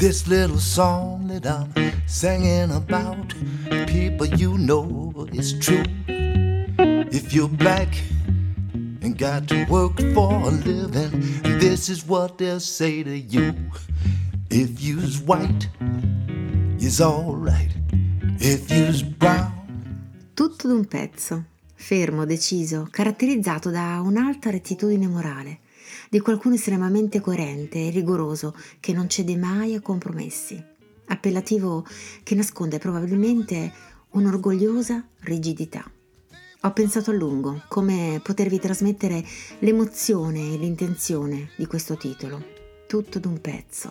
This little song that I'm singing about, people, you know it's true. If you're black and got to work for a living, this is what they'll say to you. If you's white, you's alright. If you's brown. Tutto d'un pezzo, fermo, deciso, caratterizzato da un'alta rettitudine morale, di qualcuno estremamente coerente e rigoroso che non cede mai a compromessi, appellativo che nasconde probabilmente un'orgogliosa rigidità. Ho pensato a lungo come potervi trasmettere l'emozione e l'intenzione di questo titolo, tutto d'un pezzo.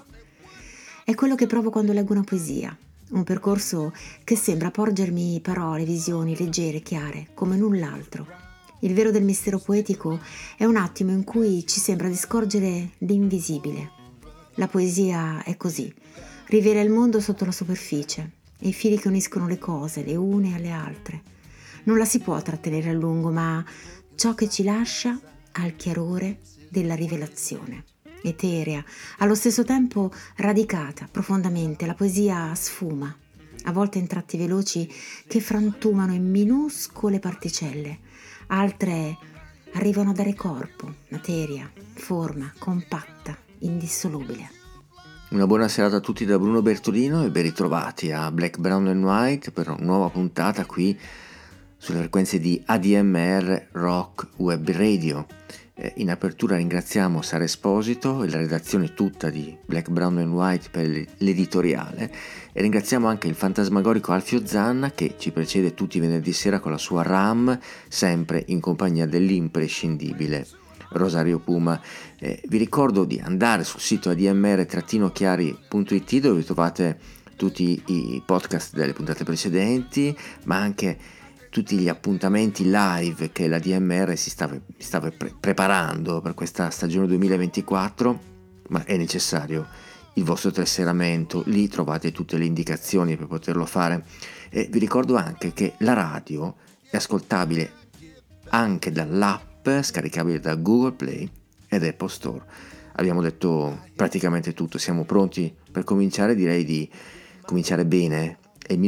È quello che provo quando leggo una poesia, un percorso che sembra porgermi parole, visioni leggere, chiare, come null'altro. Il vero del mistero poetico è un attimo in cui ci sembra di scorgere l'invisibile. La poesia è così, rivela il mondo sotto la superficie e i fili che uniscono le cose, le une alle altre. Non la si può trattenere a lungo, ma ciò che ci lascia ha il chiarore della rivelazione. Eterea, allo stesso tempo radicata profondamente, la poesia sfuma, a volte in tratti veloci che frantumano in minuscole particelle, altre arrivano a dare corpo, materia, forma, compatta, indissolubile. Una buona serata a tutti da Bruno Bertolino e ben ritrovati a Black, Brown and White per una nuova puntata qui sulle frequenze di ADMR Rock Web Radio. In apertura ringraziamo Sara Esposito e la redazione tutta di Black, Brown and White per l'editoriale e ringraziamo anche il fantasmagorico Alfio Zanna che ci precede tutti i venerdì sera con la sua RAM, sempre in compagnia dell'imprescindibile Rosario Puma. Vi ricordo di andare sul sito admr-chiari.it dove trovate tutti i podcast delle puntate precedenti, ma anche tutti gli appuntamenti live che la DMR si stava preparando per questa stagione 2024, ma è necessario il vostro tesseramento, lì trovate tutte le indicazioni per poterlo fare. E vi ricordo anche che la radio è ascoltabile anche dall'app scaricabile da Google Play ed Apple Store. Abbiamo detto praticamente tutto, siamo pronti per cominciare, direi di cominciare bene. È il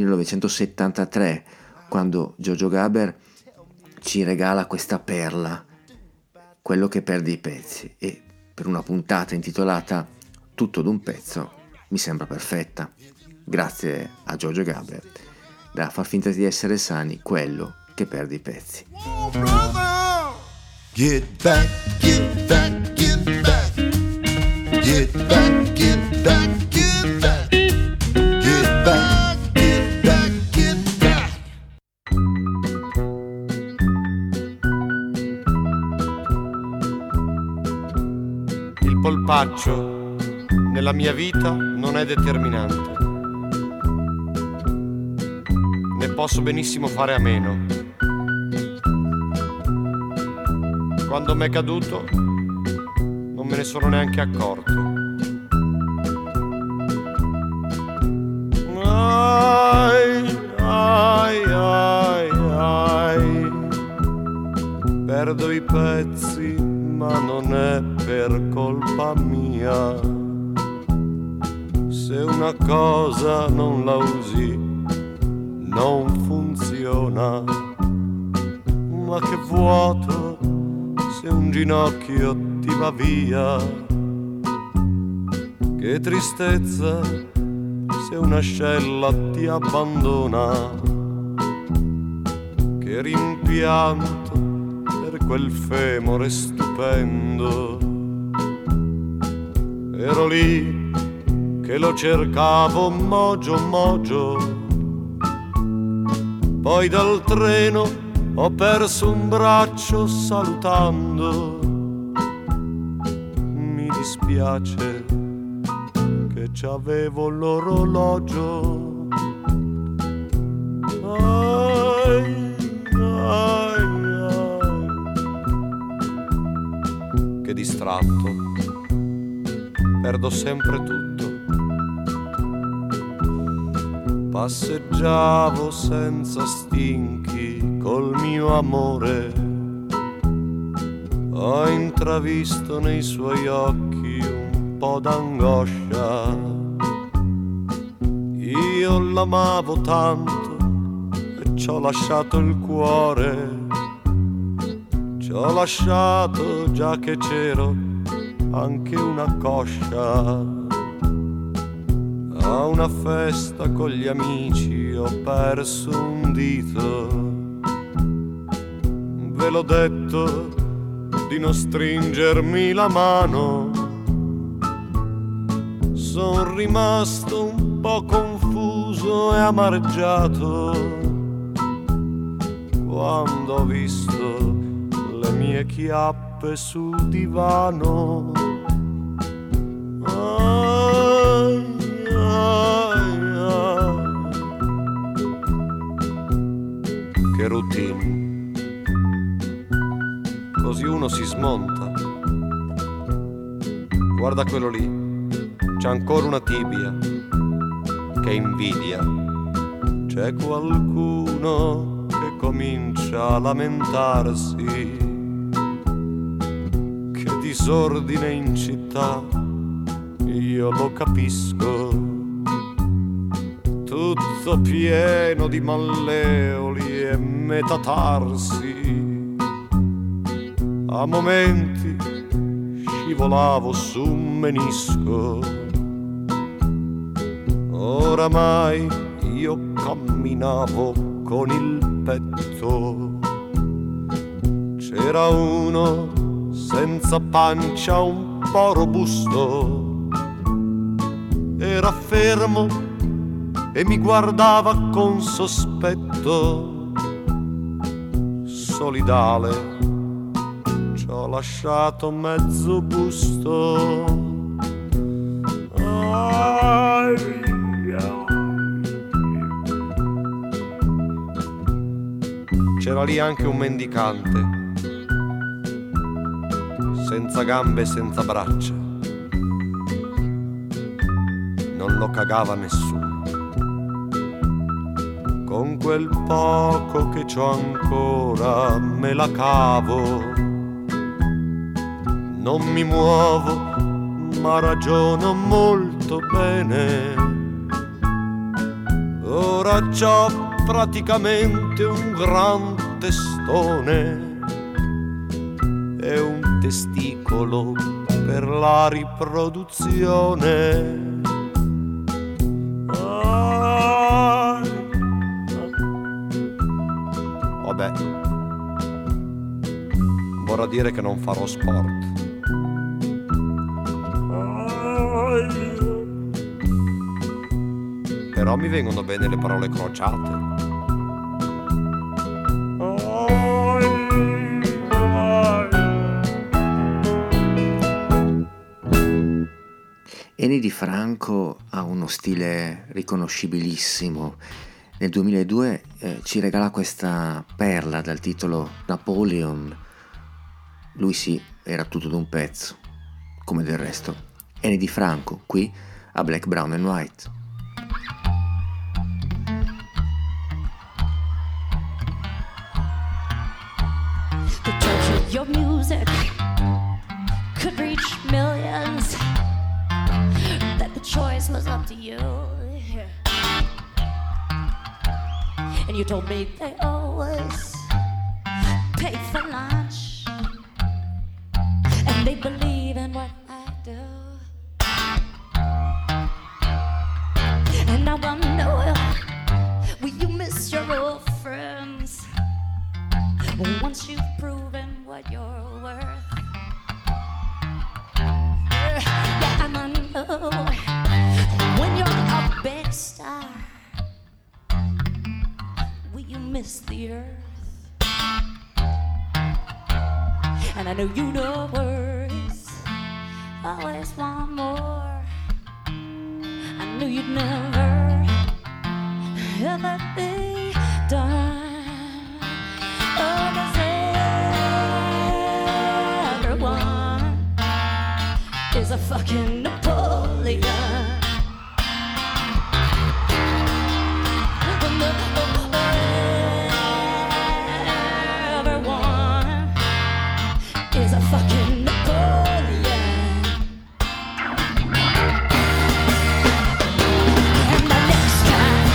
1973 quando Giorgio Gaber ci regala questa perla, quello che perde i pezzi, e per una puntata intitolata Tutto d'un pezzo mi sembra perfetta. Grazie a Giorgio Gaber, da far finta di essere sani, quello che perde i pezzi. Get back, get back, get back. Get back, get back, get back. Get back, get back, get back. Il polpaccio nella mia vita non è determinante. Ne posso benissimo fare a meno. Quando m'è caduto non me ne sono neanche accorto. Ai, ai, ai, ai. Perdo i pezzi, ma non è per colpa mia. Se una cosa non la usi, non funziona. Ma che vuoto se un ginocchio ti va via. Che tristezza se un'ascella ti abbandona. Che rimpianto per quel femore stupendo. Ero lì che lo cercavo mogio mogio. Poi dal treno ho perso un braccio salutando. Mi dispiace che c'avevo l'orologio. Ai, ai, ai. Che distratto, perdo sempre tutto. Passeggiavo senza stinchi col mio amore. Ho intravisto nei suoi occhi un po' d'angoscia. io l'amavo tanto e ci ho lasciato il cuore. Ci ho lasciato già che c'ero anche una coscia. A una festa con gli amici ho perso un dito. Ve l'ho detto di non stringermi la mano. Son rimasto un po' confuso e amareggiato quando ho visto le mie chiappe sul divano. Ai, ai, ai. Che routine, così uno si smonta. Guarda quello lì, c'è ancora una tibia, che invidia. C'è qualcuno che comincia a lamentarsi, che disordine in città, io lo capisco. Tutto pieno di malleoli e metatarsi. A momenti scivolavo su un menisco. Oramai io camminavo con il petto. C'era uno senza pancia, un po' robusto. Era fermo e mi guardava con sospetto. Solidale, ci ho lasciato mezzo busto. C'era lì anche un mendicante, senza gambe e senza braccia. Non lo cagava nessuno. Con quel poco che c'ho ancora me la cavo. Non mi muovo, ma ragiono molto bene. Ora c'ho praticamente un gran testone e un testicolo per la riproduzione. Vabbè, vorrà dire che non farò sport. Però mi vengono bene le parole crociate. Eni Di Franco ha uno stile riconoscibilissimo. Nel 2002 ci regala questa perla dal titolo Napoleon. Lui sì, era tutto d'un pezzo, come del resto. Eni Di Franco, qui a Black, Brown and White. The touch of your music could reach millions. That the choice was up to you. And you told me they always pay for lunch, and they believe in what I do. And I wonder, will you miss your old friends once you've proven what you're worth? Yeah, and I know when you're a big star, will you miss the earth? And I know you know words, always want more. I knew you'd never ever be done. Oh, 'cause everyone is a fucking Napoleon. Everyone is a fucking Napoleon. And the next time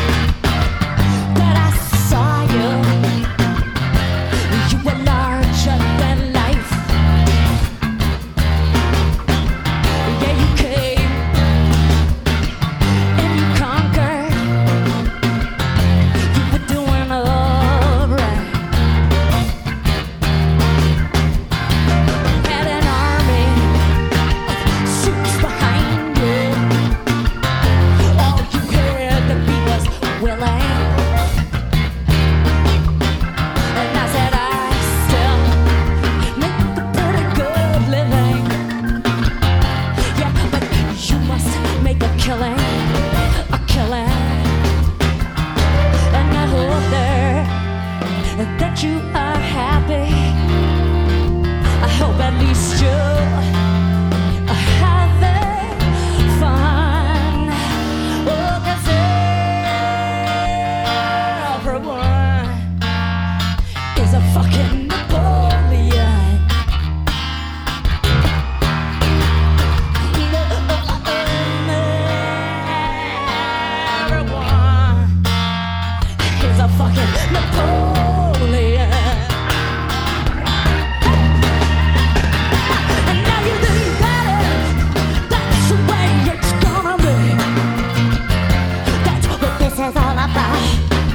is a fucking Napoleon. Everyone is a fucking Napoleon. And now you think that that's the way it's gonna be. That's what this is all about.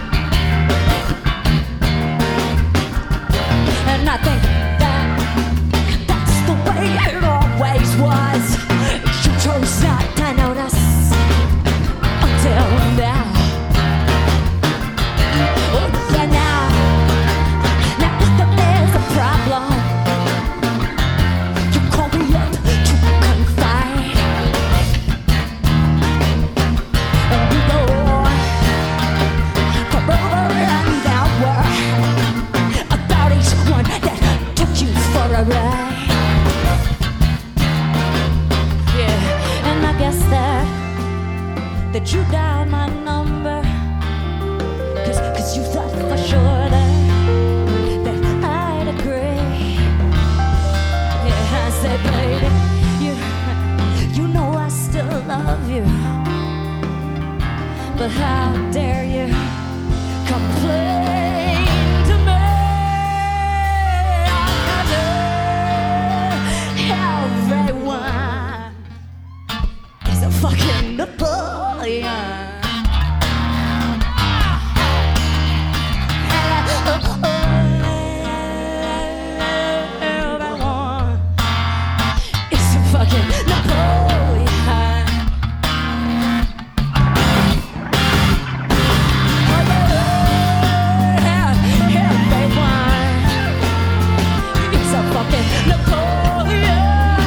And I think that's the way it always was. You chose not to notice until now. Oh yeah, now that there's a problem, you call me up to confide, and we go from over and outward about each one that took you for a ride. Yeah, and I guess that you dialed my number, cause you thought for sure that I'd agree. Yeah, I said, baby, you know I still love you, but how dare you complain to me? Everyone is a fucking Napoleon. Everyone is a fucking Napoleon. Everyone is a fucking Napoleon.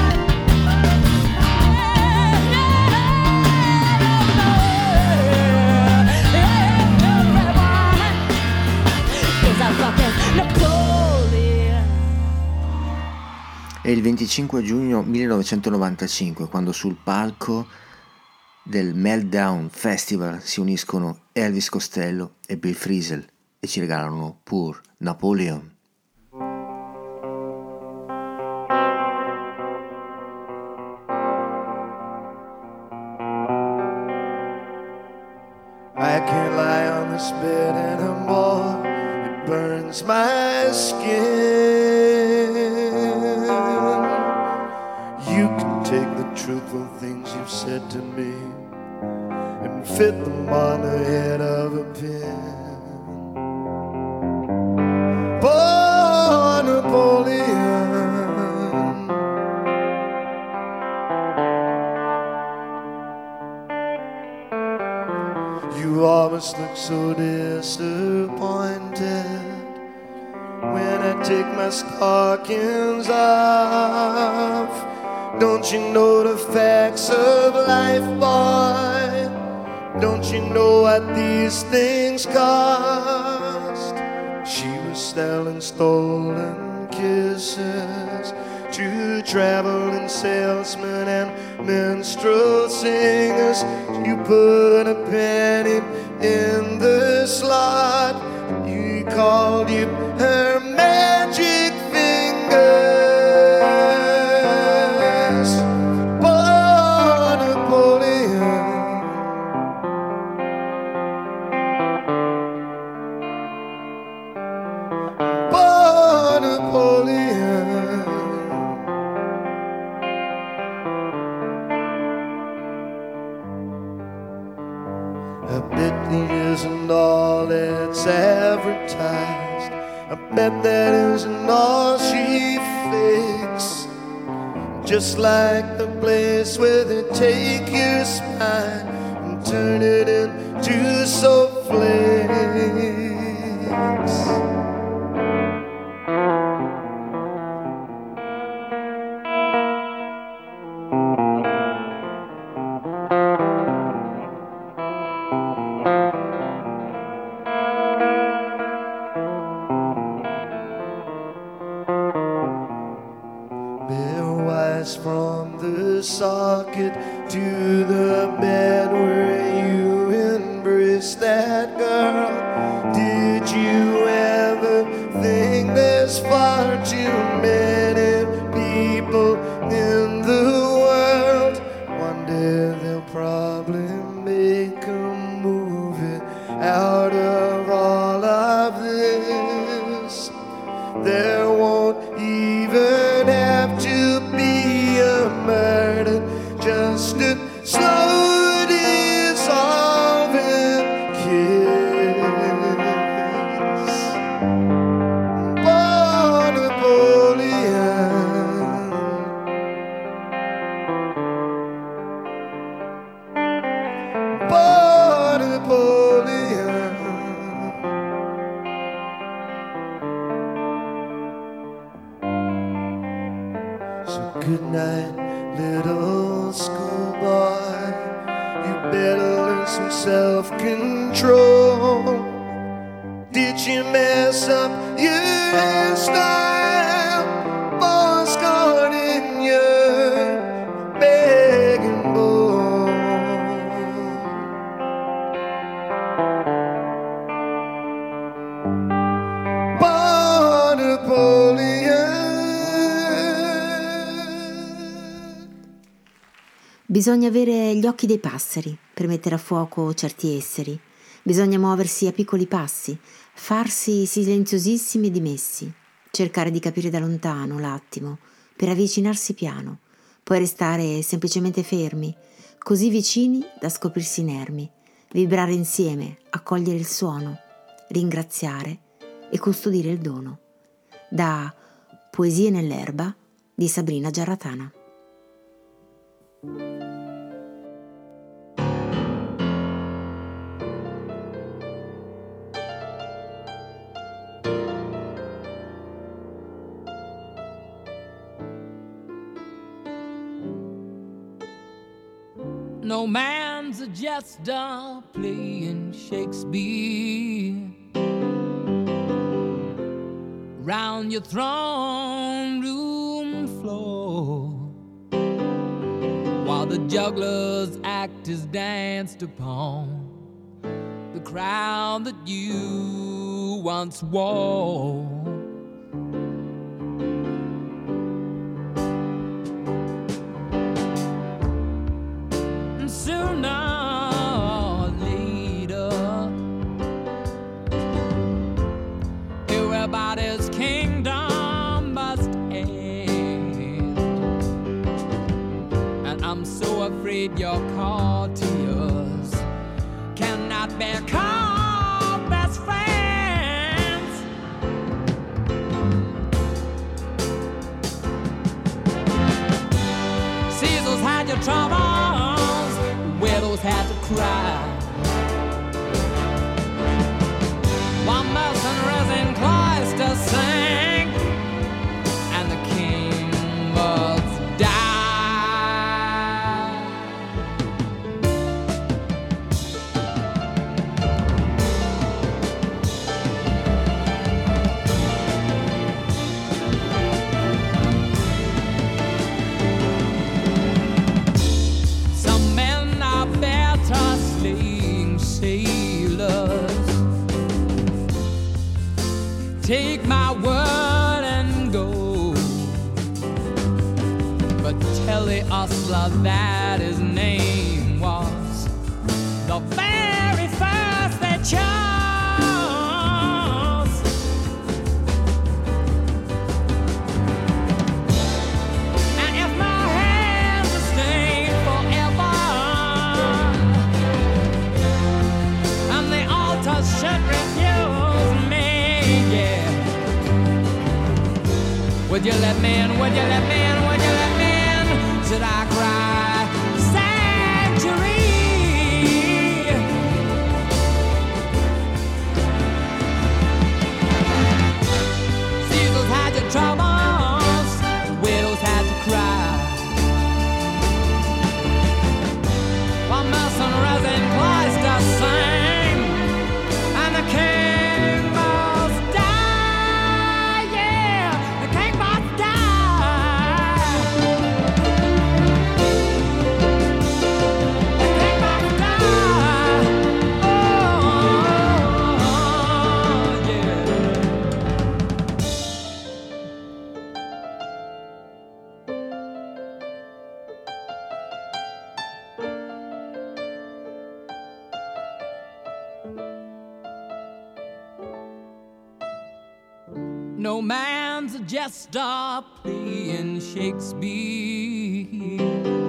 È il 25 giugno 1995 quando sul palco del Meltdown Festival si uniscono Elvis Costello e Bill Frisell e ci regalano Poor Napoleon. I can't lie on this bed anymore. It burns my skin. You can take the truthful things you've said to me and fit them on the head of a pin. Poor Napoleon, you always look so disappointed when I take my stockings off. Don't you know the facts of life, boy? Don't you know what these things cost? She was selling stolen kisses to traveling salesmen and minstrel singers. You put a penny in the slot. You called you her magic fingers. Poor Napoleon, poor Napoleon. I bet it isn't all that's advertised. I bet that isn't all she fakes. Just like the place where they take your spine and turn it into soufflés. From the socket to the bed where you embraced that girl. Did you ever think there's far too many people in the world. One day they'll probably make a movie out of all of this. There won't even have to be a murder, just a slow dissolving kiss. Born Napoleon, born Napoleon. So good night, little schoolboy. You better learn some self-control. Did you mess up your style? More scarred in your begging bowl. Born Napoleon. Bisogna avere gli occhi dei passeri per mettere a fuoco certi esseri. Bisogna muoversi a piccoli passi, farsi silenziosissimi e dimessi, cercare di capire da lontano l'attimo, per avvicinarsi piano, poi restare semplicemente fermi, così vicini da scoprirsi inermi, vibrare insieme, accogliere il suono, ringraziare e custodire il dono. Da Poesie nell'erba di Sabrina Giarratana. No man's a jester playing Shakespeare round your throne room floor, while the juggler's act is danced upon the crown that you once wore. Sooner or later, everybody's kingdom must end, and I'm so afraid your courtiers cannot be called best friends. Caesar's had your troubles, widows had to cry, while mercenaries in cloisters sang, and the king must die. Some men are better slaying sailors. Take my word and go, but tell the ostler that his name was the very first they chose. And if my hands are stained forever, and the altar should refuse me, yeah, would you let me in, would you let me in, would you let me in? Should I cry sanctuary? Caesar's had your troubles, widows had to cry, while mercenaries in cloisters sang, and the king must die, yeah, the king must die. No man's a jester playing Shakespeare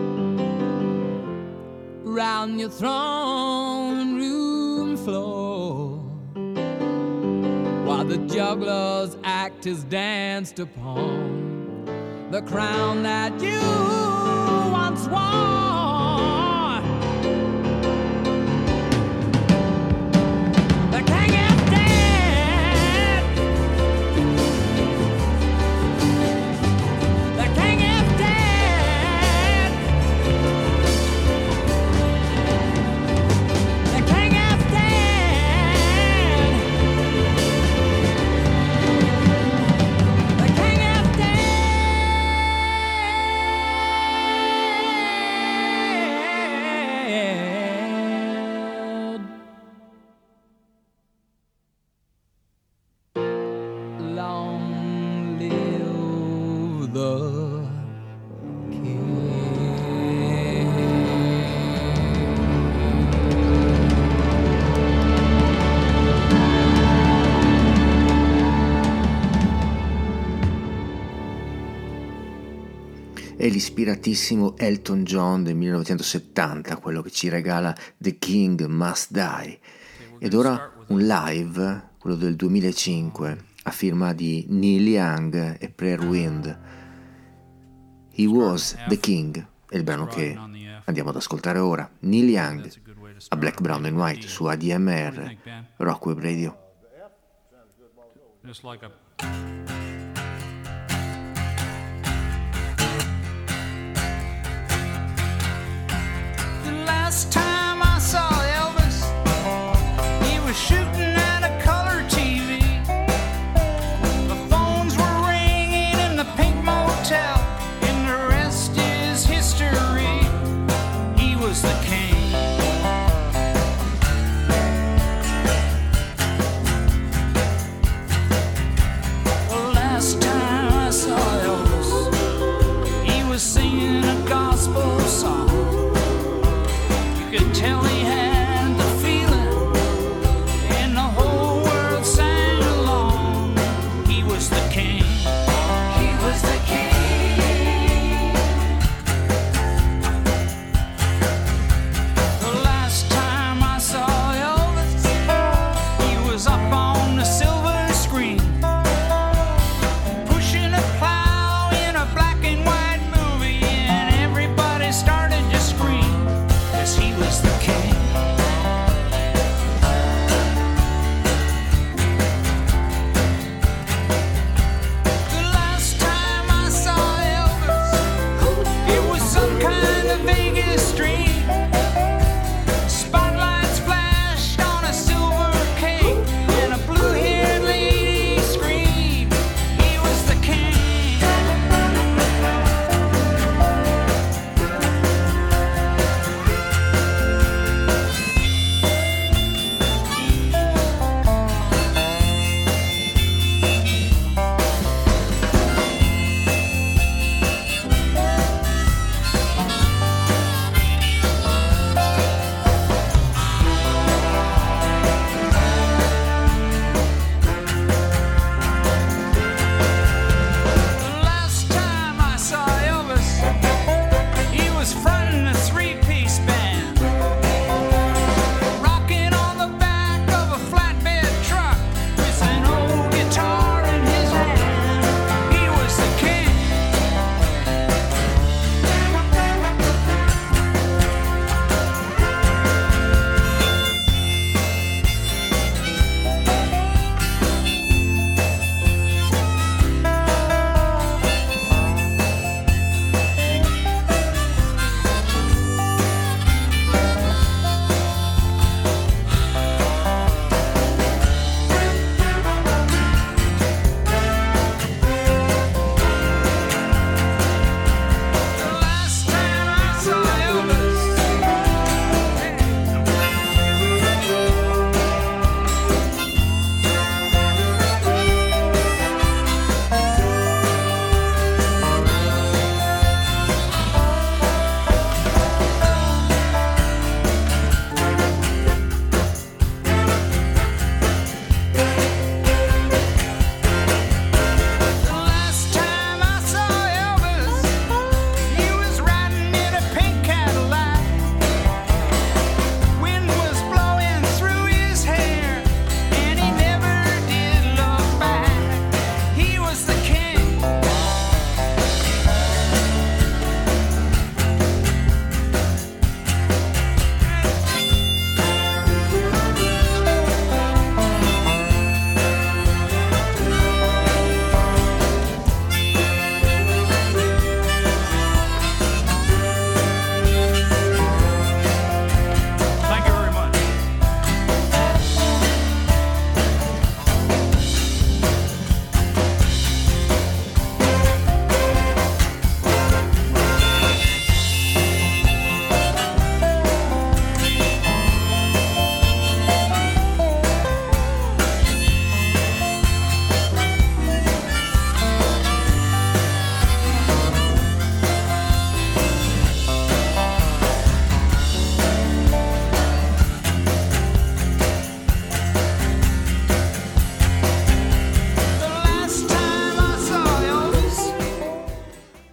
round your throne room floor, while the jugglers act is danced upon the crown that you once wore. The king is dead. The king is dead. The king is dead. The king is dead. Long live the king. È l'ispiratissimo Elton John del 1970, quello che ci regala The King Must Die. Ed ora un live, quello del 2005, a firma di Neil Young e Prayer Wind. He Was the King, è il brano che andiamo ad ascoltare ora. Neil Young a Black, Brown and White su ADMR, Rock Web Radio. Just like a The last time I saw Elvis, he was shooting at a color TV. The phones were ringing in the Pink Motel, and the rest is history. He was the king.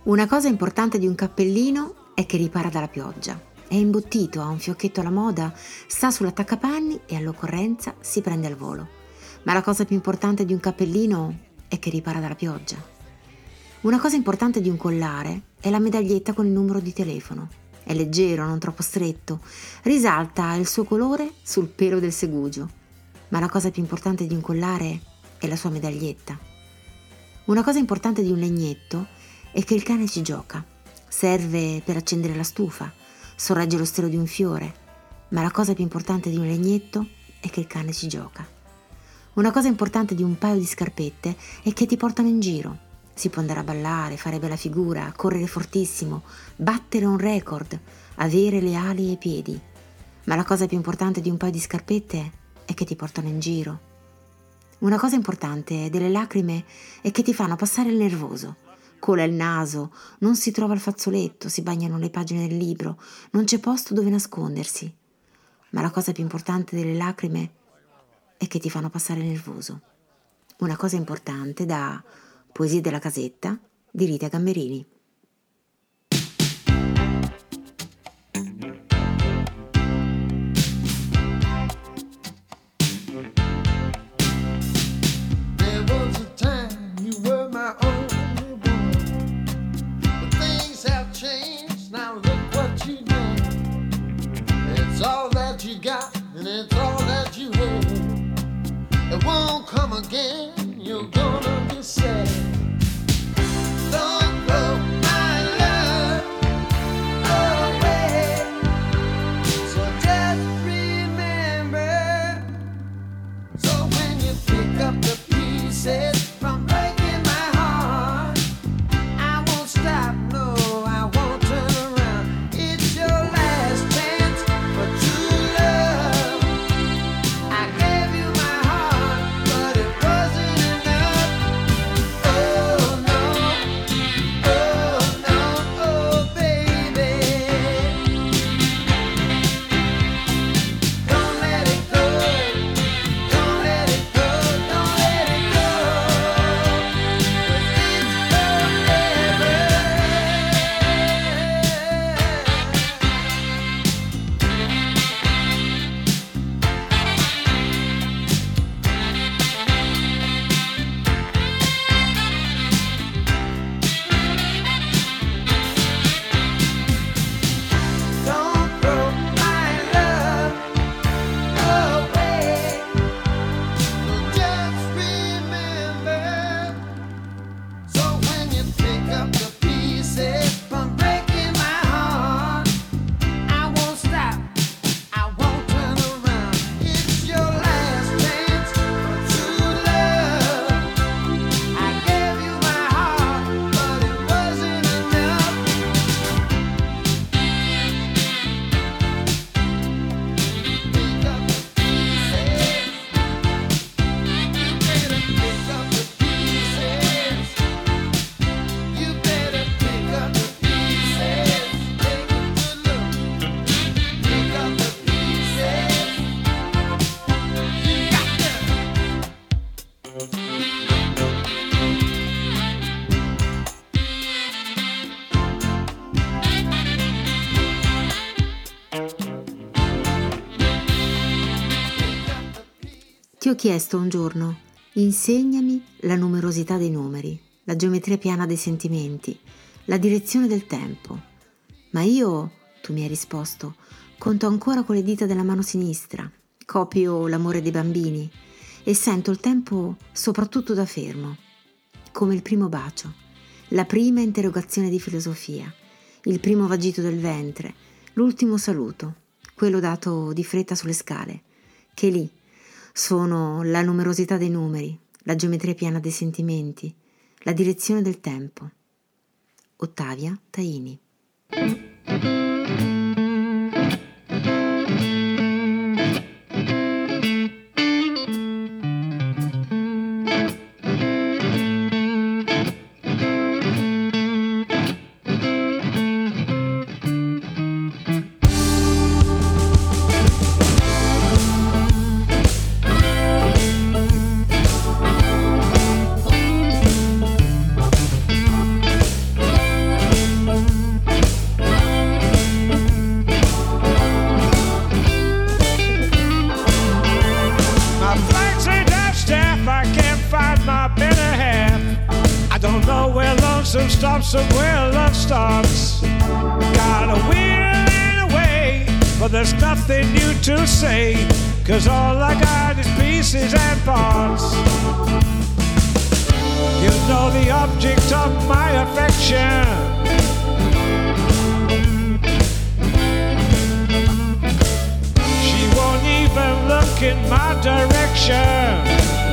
Una cosa importante di un cappellino è che ripara dalla pioggia. È imbottito, ha un fiocchetto alla moda, sta sull'attaccapanni e all'occorrenza si prende al volo. Ma la cosa più importante di un cappellino è che ripara dalla pioggia. Una cosa importante di un collare è la medaglietta con il numero di telefono. È leggero, non troppo stretto, risalta il suo colore sul pelo del segugio. Ma la cosa più importante di un collare è la sua medaglietta. Una cosa importante di un legnetto è che il cane ci gioca. Serve per accendere la stufa, sorregge lo stelo di un fiore, ma la cosa più importante di un legnetto è che il cane ci gioca. Una cosa importante di un paio di scarpette è che ti portano in giro. Si può andare a ballare, fare bella figura, correre fortissimo, battere un record, avere le ali ai piedi. Ma la cosa più importante di un paio di scarpette è che ti portano in giro. Una cosa importante delle lacrime è che ti fanno passare il nervoso. Cola il naso, non si trova il fazzoletto, si bagnano le pagine del libro, non c'è posto dove nascondersi. Ma la cosa più importante delle lacrime è che ti fanno passare il nervoso. Una cosa importante da Poesie della casetta di Rita Gamberini. There was a time you were my only one, but things have changed, now look what you done. It's all that you got and it's all that you had. It won't come again, you're gonna be sad. Don't throw my love away, so just remember. So when you pick up the pieces from breaking my heart, I won't stop, no, I won't turn around. It's your last chance for true love. I gave you my heart, but it wasn't enough. Oh no, oh baby. Don't let it go, don't let it go, don't let it go. 'Ti ho chiesto un giorno, insegnami la numerosità dei numeri, la geometria piana dei sentimenti, la direzione del tempo. Ma io, tu mi hai risposto, conto ancora con le dita della mano sinistra, copio l'amore dei bambini e sento il tempo soprattutto da fermo, come il primo bacio, la prima interrogazione di filosofia, il primo vagito del ventre, l'ultimo saluto, quello dato di fretta sulle scale, che lì sono la numerosità dei numeri, la geometria piana dei sentimenti, la direzione del tempo. Ottavia Taini. some stop somewhere love starts. Got a will and a way, but there's nothing new to say, 'cause all I got is pieces and parts. You know the object of my affection. She won't even look in my direction.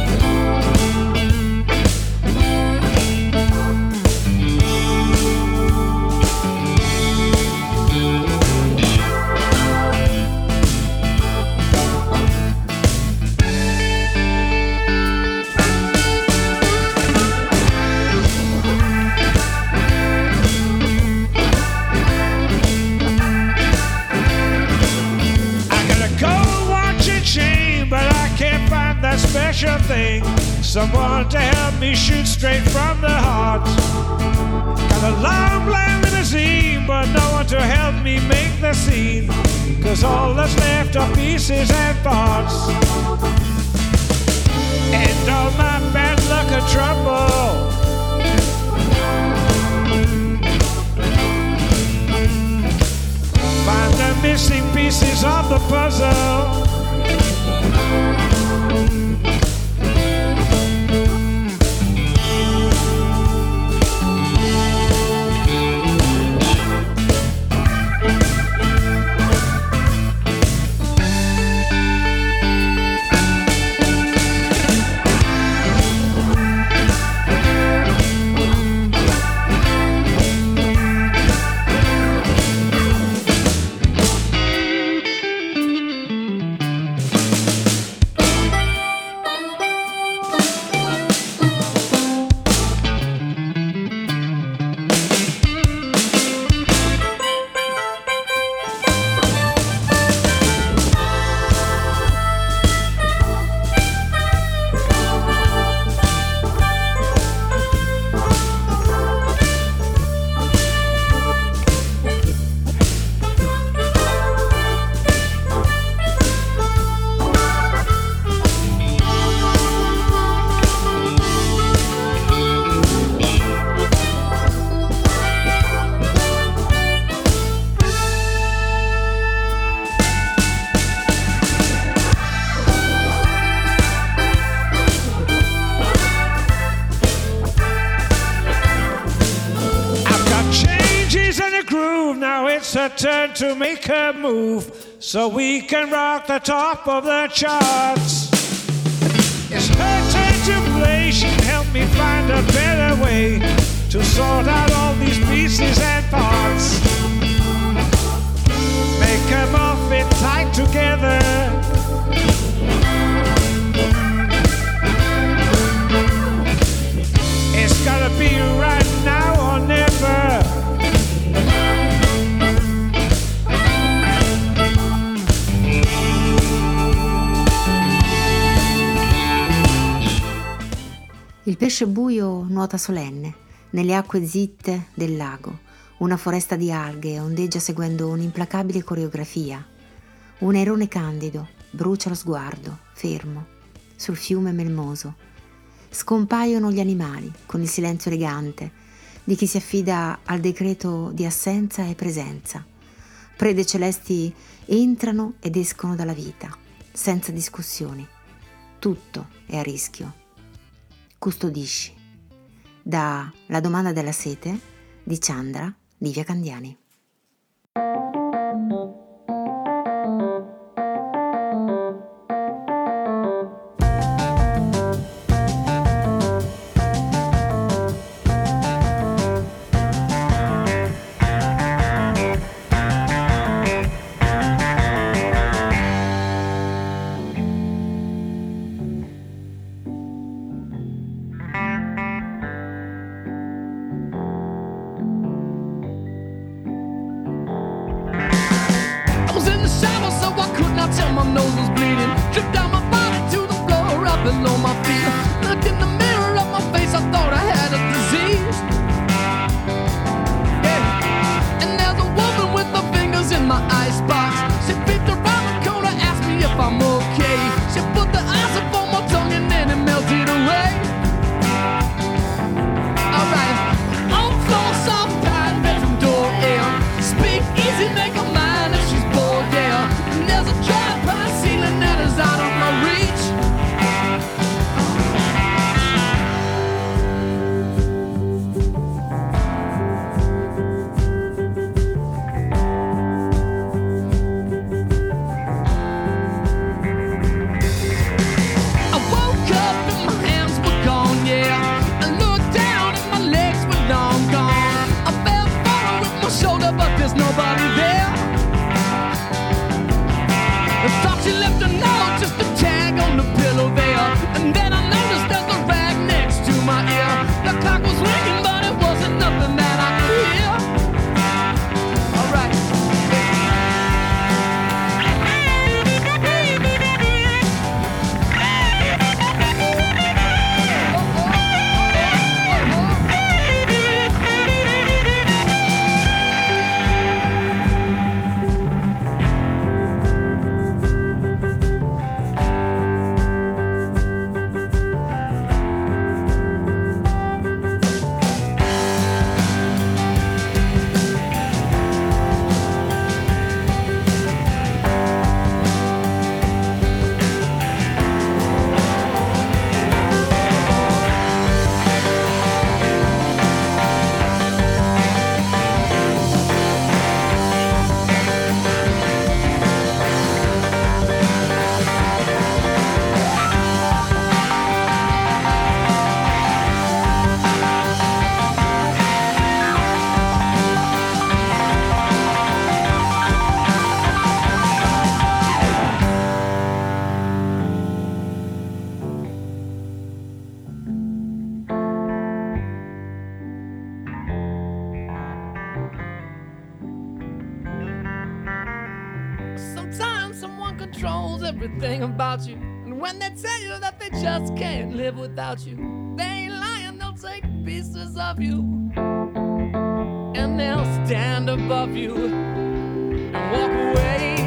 Special thing, someone to help me shoot straight from the heart. Got a long black limousine, but no one to help me make the scene, 'cause all that's left are pieces and parts. And all my bad luck and trouble, find the missing pieces of the puzzle. Her turn to make her move, so we can rock the top of the charts. It's her turn to play, she can help me find a better way to sort out all these pieces and parts. Make them all fit tight together. It's gotta be right now or never. Il pesce buio nuota solenne nelle acque zitte del lago. Una foresta di alghe ondeggia seguendo un'implacabile coreografia. Un airone candido brucia lo sguardo, fermo, sul fiume melmoso. Scompaiono gli animali con il silenzio elegante di chi si affida al decreto di assenza e presenza. Prede celesti entrano ed escono dalla vita, senza discussioni. Tutto è a rischio. Custodisci. Da La domanda della sete di Chandra Livia Candiani. below my feet. Look in the mirror of my face, I thought I had a disease. Yeah. And there's a woman with her fingers in my icebox. She peeked around the corner, asked me if I'm okay. She put the ice up on my tongue and then it melted away. Alright, oh nobody there. I thought she left a note, just a tag on the pillow there. And then I noticed there's a rag next to my ear. The clock was ringing, but it wasn't nothing that I could hear. All right. Sometimes someone controls everything about you. And when they tell you that they just can't live without you, they ain't lying, they'll take pieces of you. And they'll stand above you and walk away.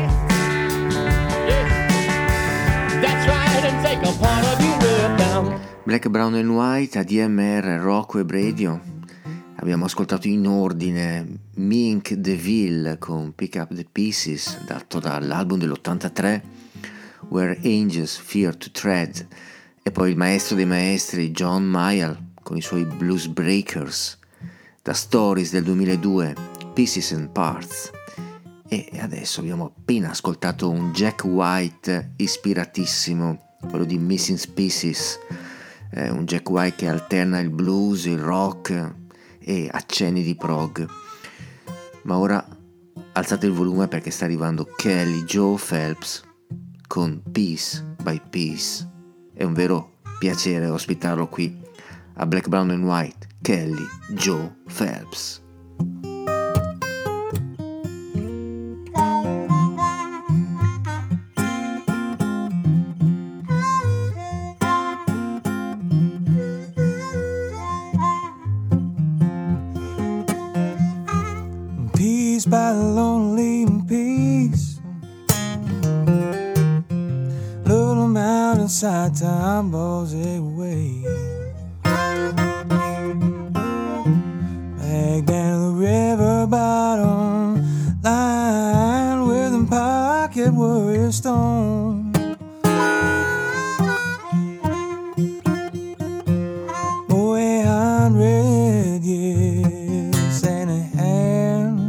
Yeah. That's right, and take a part of you with them. Black, Brown and White, ADMR, Rocco e Radio. Abbiamo ascoltato in ordine Mink DeVille con Pick Up the Pieces, dato dall'album dell'83 Where Angels Fear to Tread, e poi il maestro dei maestri John Mayall con i suoi Blues Breakers, da Stories del 2002, Pieces and Parts. E adesso abbiamo appena ascoltato un Jack White ispiratissimo, quello di Missing Pieces, un Jack White che alterna il blues, il rock e accenni di prog. Ma ora alzate il volume perché sta arrivando Kelly Joe Phelps con Piece by Piece. È un vero piacere ospitarlo qui a Black, Brown and White. Kelly Joe Phelps. By lonely peace, little mountainside tumbles away. Back down the river bottom line with a pocket warrior stone. Boy, 100 years and a hand,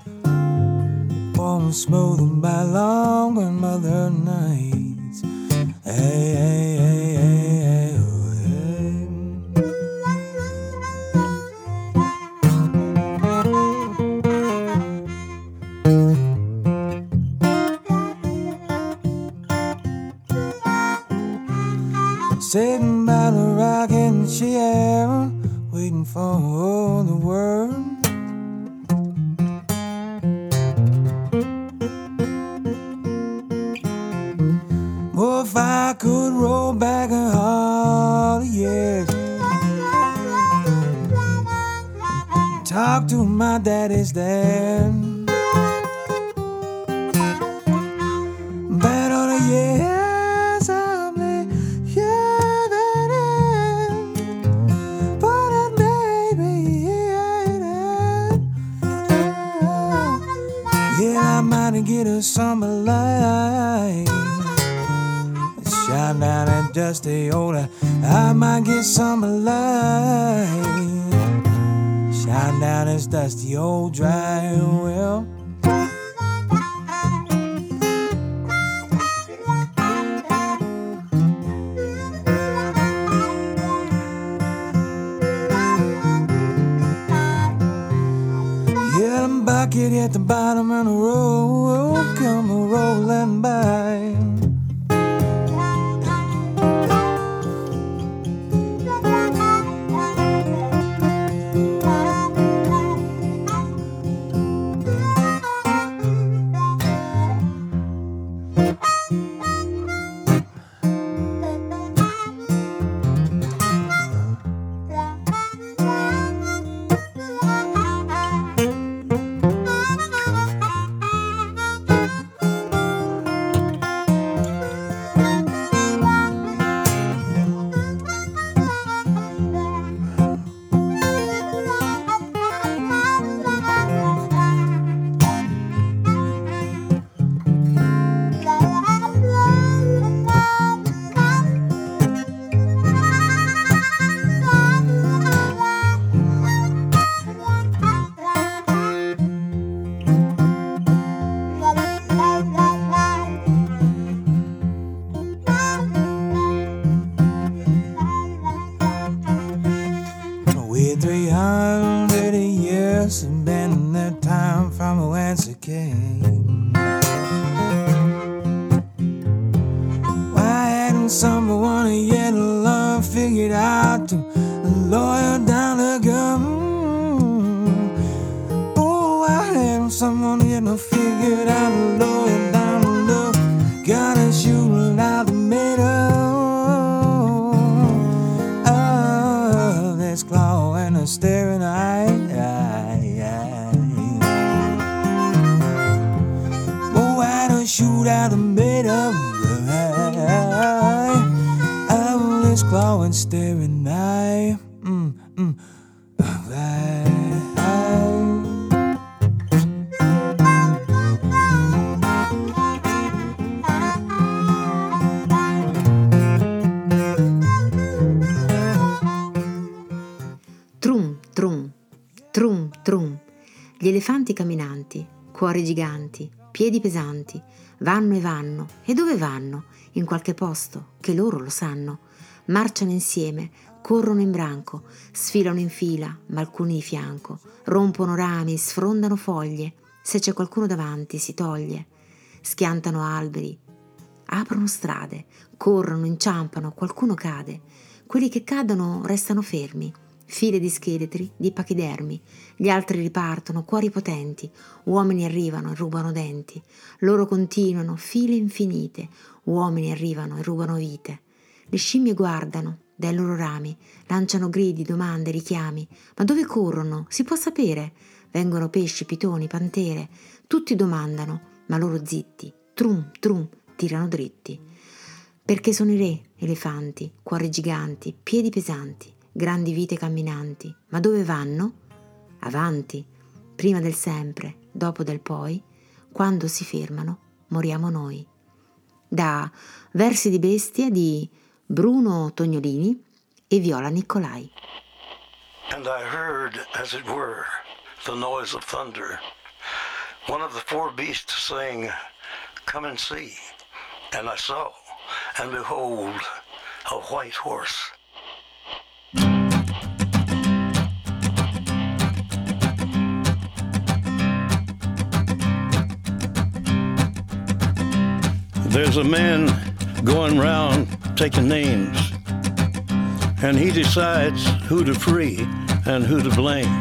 smoothed by long grandmother nights. Hey, hey, hey, hey, hey, oh, hey. Sitting by the rocking chair, waiting for the word. If I could roll back all the years, talk to my daddy's dad about all the years I've been living in, but it maybe ain't it. Yeah, I might get a summer light, shine down and dusty older. I might get some light, shine down this dusty old dry well. Yeah, them bucket at the bottom of the road come rolling by. We're 300 years and been in that time from whence it came. Why hadn't someone yet love figured out to lower down the gun? Oh, why hadn't someone yet figured out to lower down the gun and shoot out the middle? Claw and a staring eye. Oh, I don't shoot out the middle. Oh, this claw and staring eye. Trum, trum, gli elefanti camminanti, cuori giganti, piedi pesanti, vanno e vanno, e dove vanno? In qualche posto, che loro lo sanno. Marciano insieme, corrono in branco, sfilano in fila, ma alcuni di fianco, rompono rami, sfrondano foglie, se c'è qualcuno davanti si toglie, schiantano alberi, aprono strade, corrono, inciampano, qualcuno cade, quelli che cadono restano fermi. File di scheletri, di pachidermi, gli altri ripartono, cuori potenti, uomini arrivano e rubano denti, loro continuano, file infinite, uomini arrivano e rubano vite. Le scimmie guardano dai loro rami, lanciano gridi, domande, richiami, ma dove corrono? Si può sapere? Vengono pesci, pitoni, pantere, tutti domandano, ma loro zitti, trum, trum, tirano dritti. Perché sono i re, elefanti, cuori giganti, piedi pesanti, grandi vite camminanti, ma dove vanno? Avanti, prima del sempre, dopo del poi, quando si fermano, moriamo noi. Da Versi di bestia di Bruno Tognolini e Viola Nicolai. And I heard, as it were, the noise of thunder. One of the four beasts saying, "Come and see." And I saw, and behold, a white horse. There's a man going round taking names, and he decides who to free and who to blame.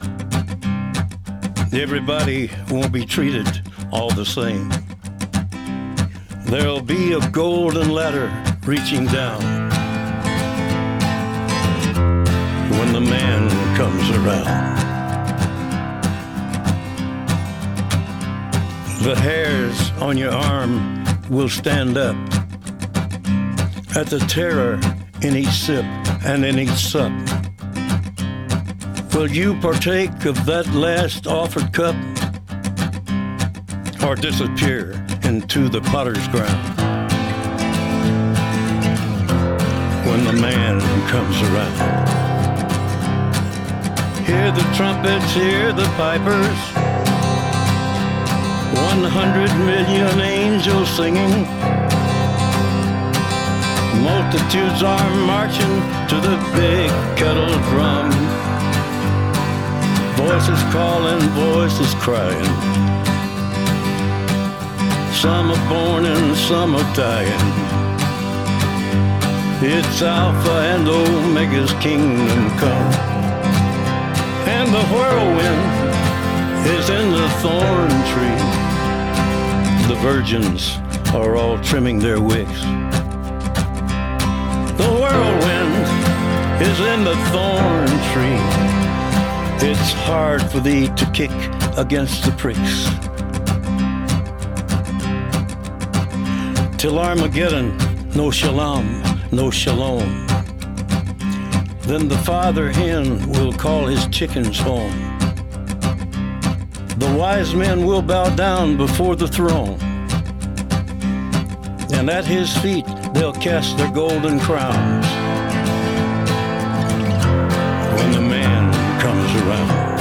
Everybody won't be treated all the same. There'll be a golden ladder reaching down when the man comes around. The hairs on your arm will stand up at the terror in each sip and in each sup. Will you partake of that last offered cup, or disappear into the potter's ground when the man comes around? Hear the trumpets, hear the pipers, 100 million angels singing. Multitudes are marching to the big kettle drum. Voices calling, voices crying. Some are born and some are dying. It's Alpha and Omega's kingdom come. And the whirlwind is in the thorn tree. The virgins are all trimming their wicks. The whirlwind is in the thorn tree. It's hard for thee to kick against the pricks. Till Armageddon, no shalom, no shalom. Then the father hen will call his chickens home. The wise men will bow down before the throne, and at his feet they'll cast their golden crowns. When the man comes around,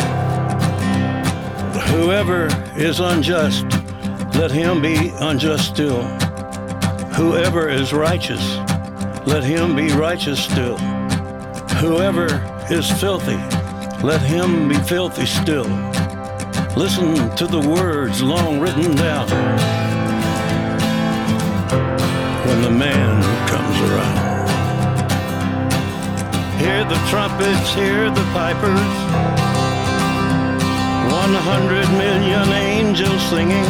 whoever is unjust, let him be unjust still. Whoever is righteous, let him be righteous still. Whoever is filthy, let him be filthy still. Listen to the words long written down. When the man comes around, hear the trumpets, hear the pipers. 100 million angels singing.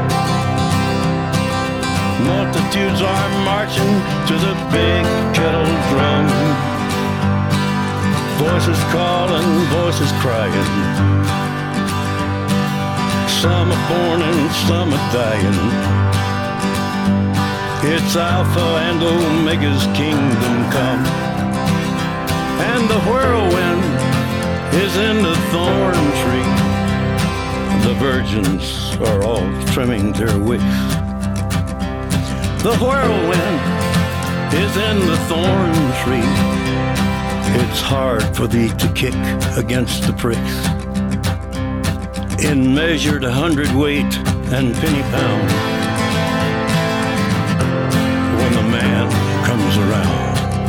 Multitudes are marching to the big kettle drum. Voices calling, voices crying. Some are born and some are dying. It's Alpha and Omega's kingdom come. And the whirlwind is in the thorn tree. The virgins are all trimming their wicks. The whirlwind is in the thorn tree. It's hard for thee to kick against the pricks. In measured 100-weight and penny pound. When the man comes around.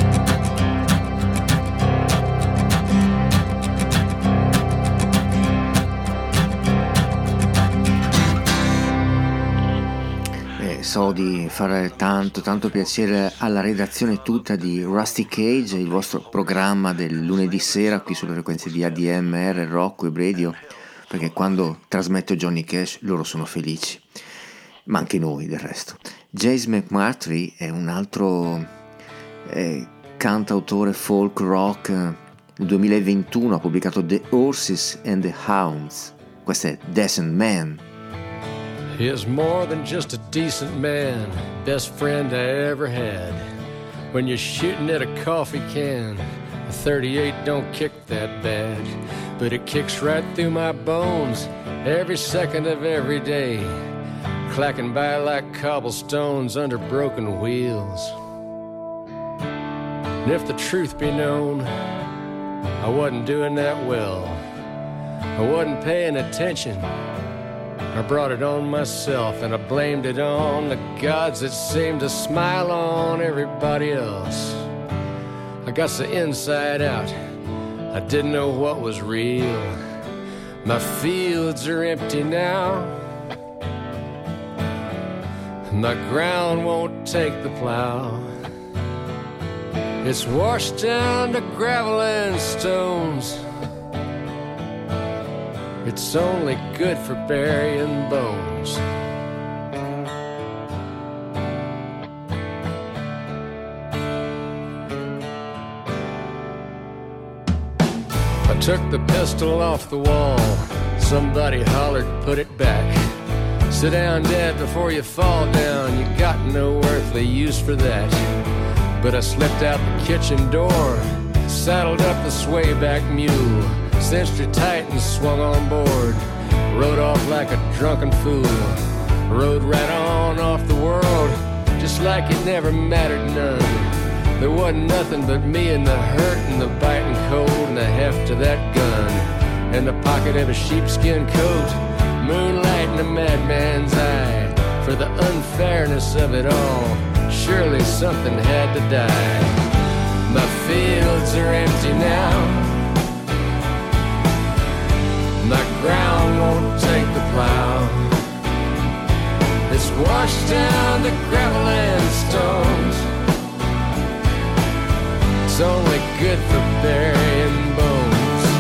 So di fare tanto piacere alla redazione tutta di Rusty Cage, il vostro programma del lunedì sera qui sulle frequenze di ADMR, Rock Web Radio, perché quando trasmetto Johnny Cash loro sono felici, ma anche noi del resto. James McMurtry è un altro cantautore folk rock. Nel 2021 ha pubblicato The Horses and the Hounds. Questo è Decent Man. He is more than just a decent man, best friend I ever had. When you're shooting at a coffee can, a 38 don't kick that bad, but it kicks right through my bones every second of every day, clacking by like cobblestones under broken wheels. And if the truth be known, I wasn't doing that well. I wasn't paying attention. I brought it on myself, and I blamed it on the gods that seemed to smile on everybody else. I got so inside out, I didn't know what was real. My fields are empty now. My ground won't take the plow. It's washed down to gravel and stones. It's only good for burying bones. I took the pistol off the wall. Somebody hollered, put it back. Sit down, Dad, before you fall down. You got no earthly use for that. But I slipped out the kitchen door, saddled up the swayback mule, cinched her tight and swung on board. Rode off like a drunken fool. Rode right on off the world, just like it never mattered none. There wasn't nothing but me and the hurt and the biting cold and the heft of that gun, and the pocket of a sheepskin coat, moonlight in a madman's eye. For the unfairness of it all, surely something had to die. My fields are empty now. washed down the gravel and stones. It's only good for burying bones.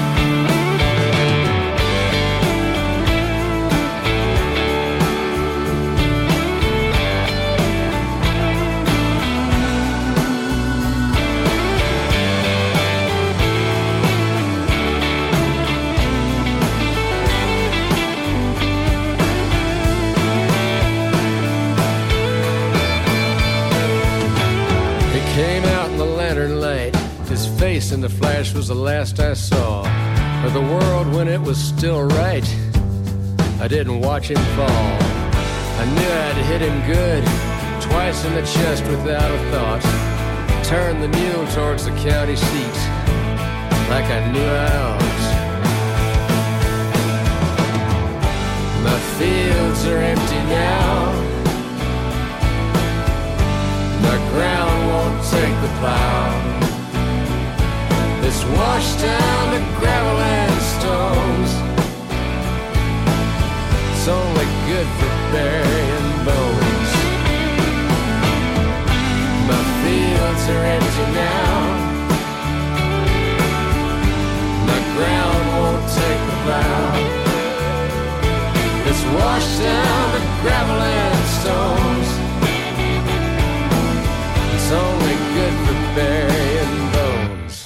Came out in the lantern light. His face in the flash was the last I saw of the world when it was still right. I didn't watch him fall. I knew I'd hit him good, twice in the chest without a thought. Turned the mule towards the county seat, like I knew I ought. My fields are empty now. The ground won't take the plow. It's washed down the gravel and stones. It's only good for burying bones. My fields are empty now. The ground won't take the plow. It's washed down the gravel and stones. It's only good for burying bones.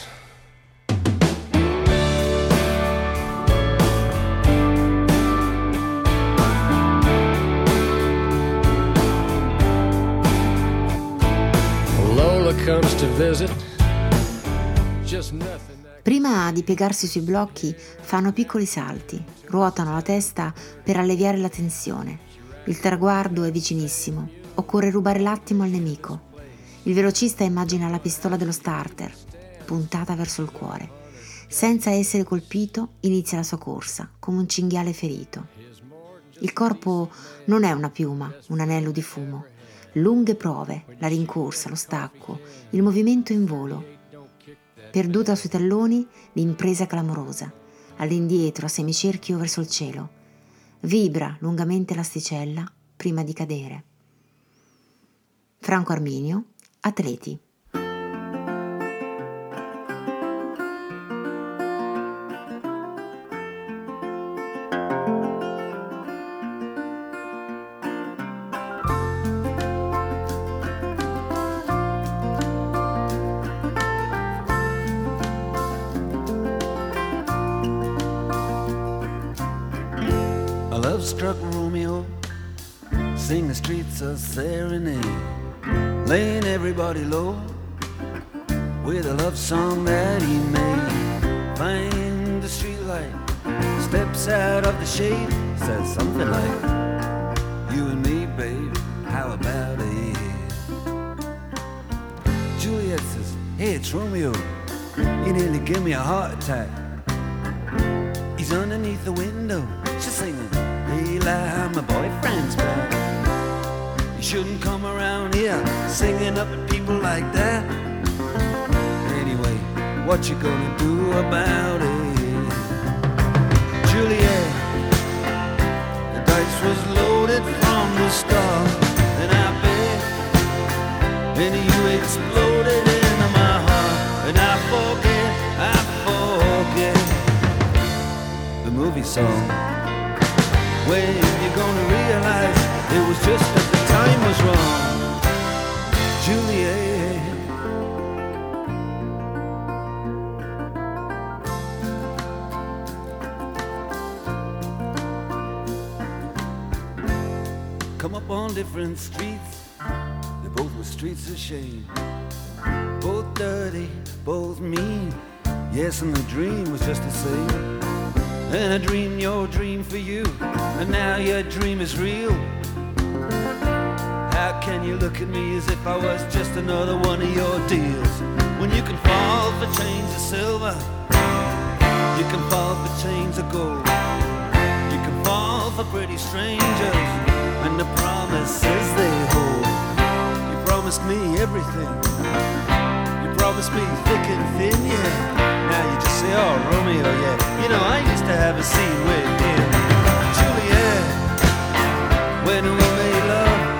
Lola comes to visit. Just nothing. Prima di piegarsi sui blocchi fanno piccoli salti, ruotano la testa per alleviare la tensione. Il traguardo è vicinissimo, occorre rubare l'attimo al nemico. Il velocista immagina la pistola dello starter, puntata verso il cuore. Senza essere colpito, inizia la sua corsa, come un cinghiale ferito. Il corpo non è una piuma, un anello di fumo. Lunghe prove, la rincorsa, lo stacco, il movimento in volo. Perduta sui talloni, l'impresa clamorosa. All'indietro, a semicerchio verso il cielo. Vibra lungamente l'asticella prima di cadere. Franco Arminio, Atleti. A love-struck Romeo sing the streets a serenade, laying everybody low with a love song that he made. Find the streetlight, steps out of the shade, says something like, you and me, babe, how about it? Juliet says, hey, it's Romeo, you nearly gave me a heart attack. He's underneath the window, she's singing, hey, lie, my boyfriend's back. You shouldn't come around here singing up at people like that. Anyway, what you gonna do about it? Juliet, the dice was loaded from the start, and I bet, and you exploded into my heart, and I forget the movie song. When you're gonna realize it was just that the time was wrong, Juliet. Come up on different streets, they both were streets of shame. Both dirty, both mean, yes, and the dream was just the same. And I dreamed your dream for you, and now your dream is real. How can you look at me as if I was just another one of your deals? When you can fall for chains of silver, you can fall for chains of gold, you can fall for pretty strangers, and the promises they hold. You promised me everything, you promised me thick and thin, yeah. Now you just say, oh, Romeo, yeah. You know, I used to have a scene with him. Juliet, when we made love,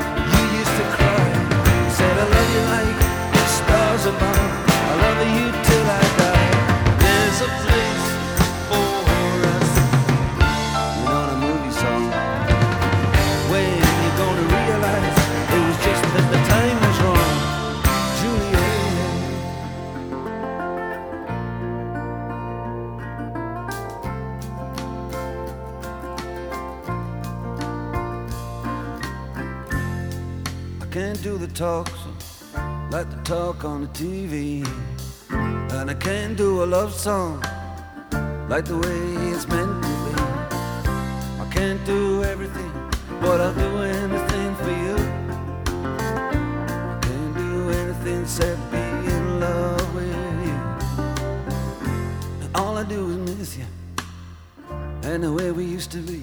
can't do the talk like the talk on the TV. And I can't do a love song like the way it's meant to be. I can't do everything, but I'll do anything for you. I can't do anything except be in love with you. And all I do is miss you and the way we used to be.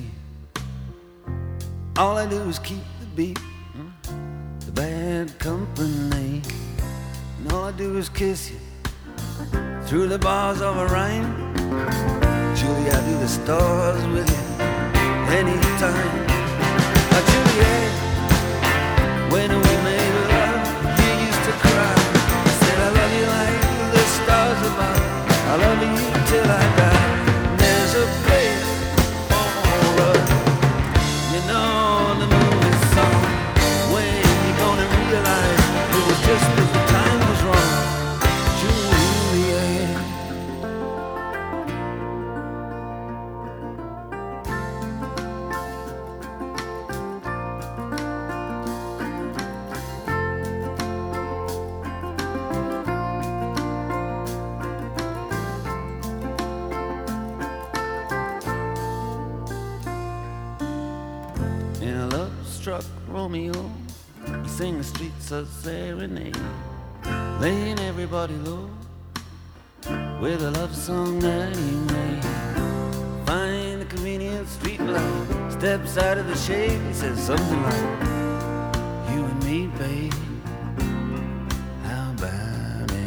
All I do is keep the beat, the bad company. And all I do is kiss you through the bars of a rhyme. Julie, I do the stars with you anytime. Juliet, when we made love, you used to cry. I said I love you like the stars above. I love you till I die. And there's a place for us, you know, the movie song. When you gonna realize it was just that the time was wrong. Juliet. In a love-struck Romeo, he sang the streets of serenade, laying everybody low with a love song that he made. Find the convenient street light, steps out of the shade, he says something like, you and me, babe, how about it?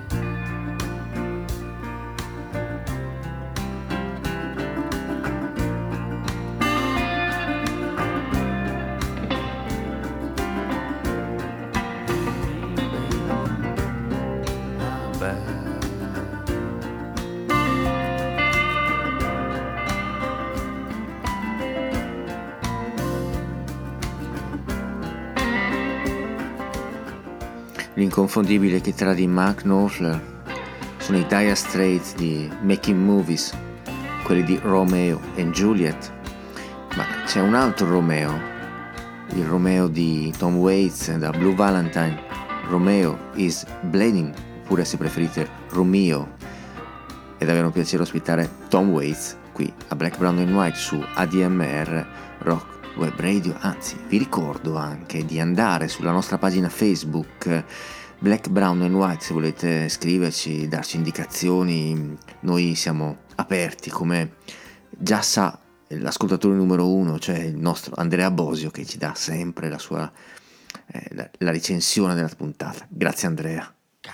L'inconfondibile chitarra di Mark Knopfler sono i Dire Straits di Making Movies, quelli di Romeo and Juliet. Ma c'è un altro Romeo, il Romeo di Tom Waits da Blue Valentine. Romeo is Bleeding, oppure se preferite Romeo. È davvero un piacere ospitare Tom Waits qui a Black, Brown and White su ADMR Rock Web Radio. Anzi, vi ricordo anche di andare sulla nostra pagina Facebook Black, Brown and White se volete scriverci, darci indicazioni. Noi siamo aperti, come già sa l'ascoltatore numero 1, cioè il nostro Andrea Bosio, che ci dà sempre la sua la recensione della puntata. Grazie Andrea.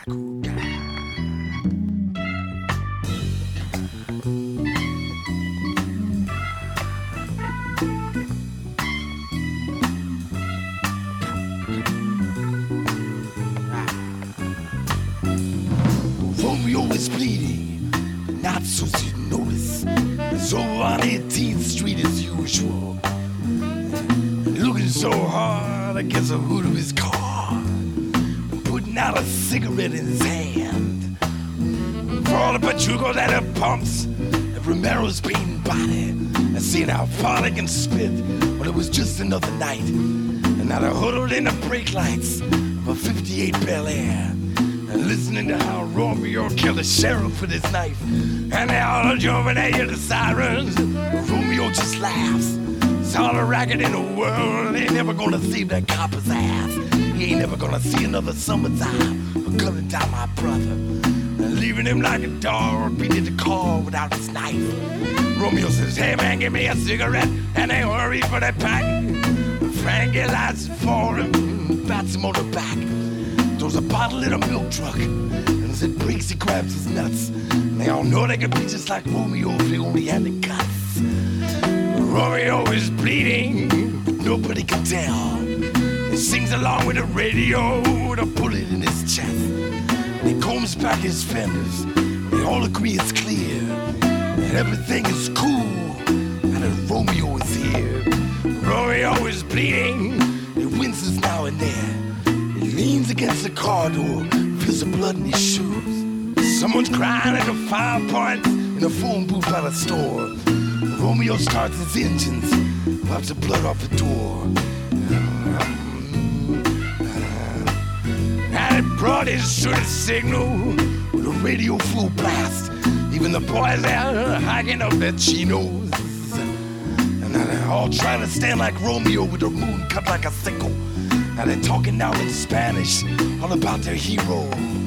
Romeo is bleeding, not so you notice. So on 18th Street as usual, looking so hard against the hood of his car, putting out a cigarette in his hand. For all the pachucos at the pumps, and Romero's beating body, and seeing how far they can spit. Well, it was just another night, and now they're huddled in the brake lights of a 58 Bel Air, and listening to how Romeo killed the sheriff with his knife. And they all jumping at you, the sirens. Romeo just laughs. It's all the racket in the world. They ain't never gonna save that copper's ass. He ain't never gonna see another summertime for cutting down my brother and leaving him like a dog beating the car without his knife. Romeo says, hey man, give me a cigarette, and they hurry for that pack. Frankie lights it for him, bats him on the back. Throws a bottle in a milk truck, and as it breaks, he grabs his nuts. And they all know they could be just like Romeo if they only had the guts. Romeo is bleeding, but nobody can tell. He sings along with the radio with a bullet in his chest. And he combs back his fenders. They all agree it's clear that everything is cool, and that Romeo is here. Romeo is bleeding, he winces now and then. He leans against the car door, feels the blood in his shoes. Someone's crying at the 5 points in a phone booth by the store. Romeo starts his engines, wipes the blood off the door. that brought his shooting signal with a radio full blast. Even the boys there hiking up their chinos. And now they're all trying to stand like Romeo with their moon cut like a sickle. Now they're talking now in Spanish all about their hero.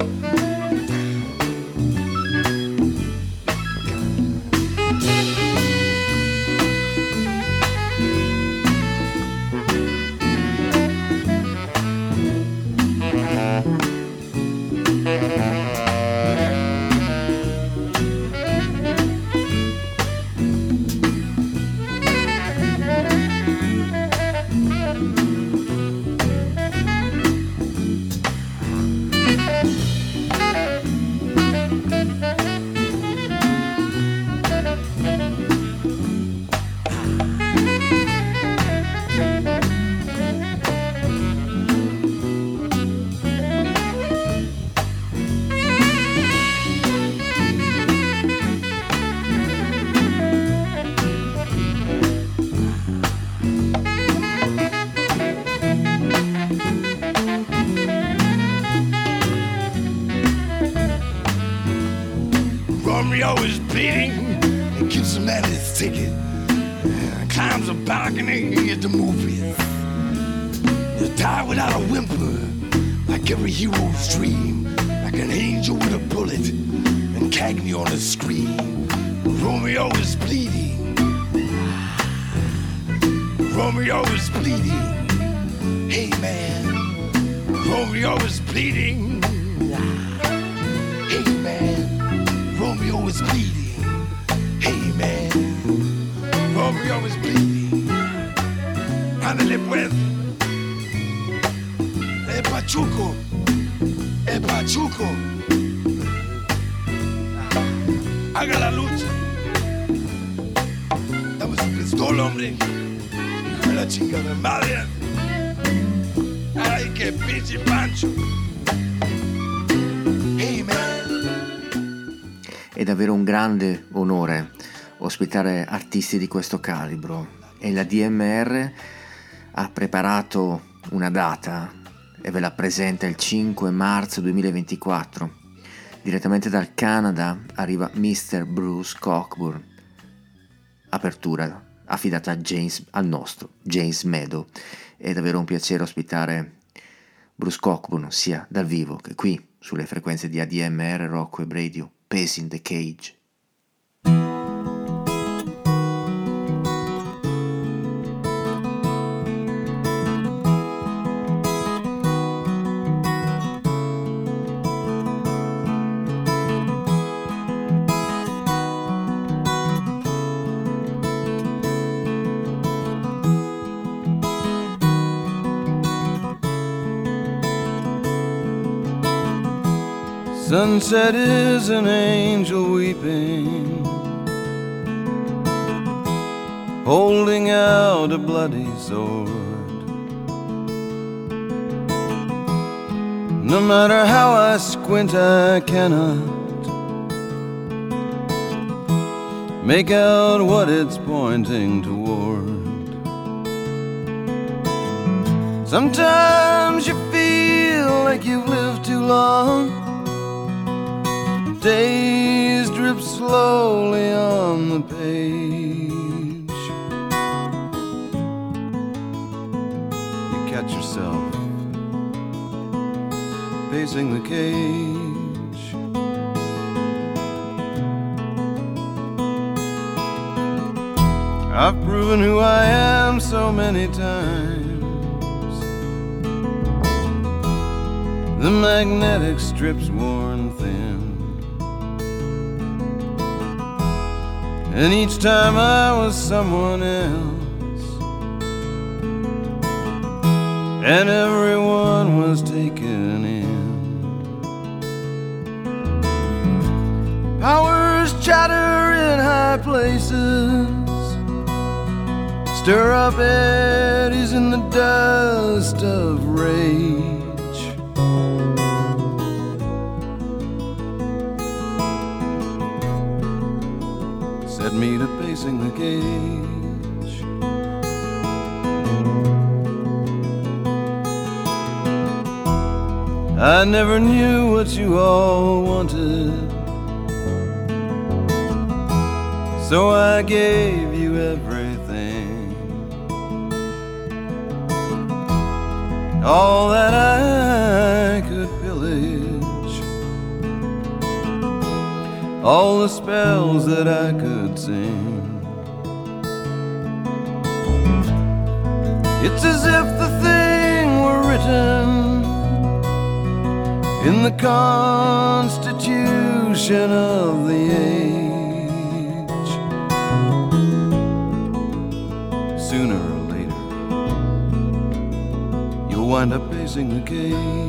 Romeo is bleeding and gives him at his ticket. Climbs a balcony at the movies. He'll die without a whimper, like every hero's dream, like an angel with a bullet and Cagney on the screen. Romeo is bleeding. Romeo is bleeding. Hey man, Romeo is bleeding. Hey man, Romeo is bleeding. Hey man, Romeo is bleeding. Ándale pues. Pachuco. Pachuco. Haga la lucha. Dame su pistola, hombre. Hijo de la chingada madre. Ay, qué pinche Pancho. Hey man. È davvero un grande onore ospitare artisti di questo calibro e la DMR ha preparato una data e ve la presenta il 5 marzo 2024. Direttamente dal Canada arriva Mr. Bruce Cockburn, apertura affidata al nostro James Meadow. È davvero un piacere ospitare Bruce Cockburn sia dal vivo che qui sulle frequenze di ADMR Rock Web Radio. Pacing the Cage. Sunset is an angel weeping, holding out a bloody sword. No matter how I squint, I cannot make out what it's pointing toward. Sometimes you feel like you've lived too long. Days drip slowly on the page. You catch yourself pacing the cage. I've proven who I am so many times. The magnetic strip's worn thin, and each time I was someone else, and everyone was taken in. Powers chatter in high places, stir up eddies in the dust of rage. Set me to pacing the cage. I never knew what you all wanted, so I gave you everything, all that I could pillage, all the spells that I could sing. It's as if the thing were written in the constitution of the age. Sooner or later, you'll wind up pacing the cage.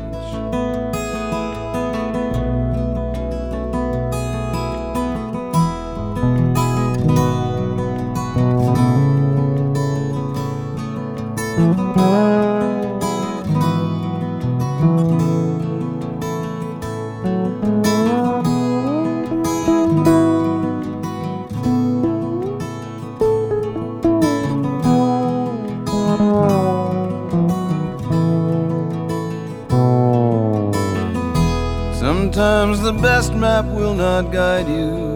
Sometimes the best map will not guide you.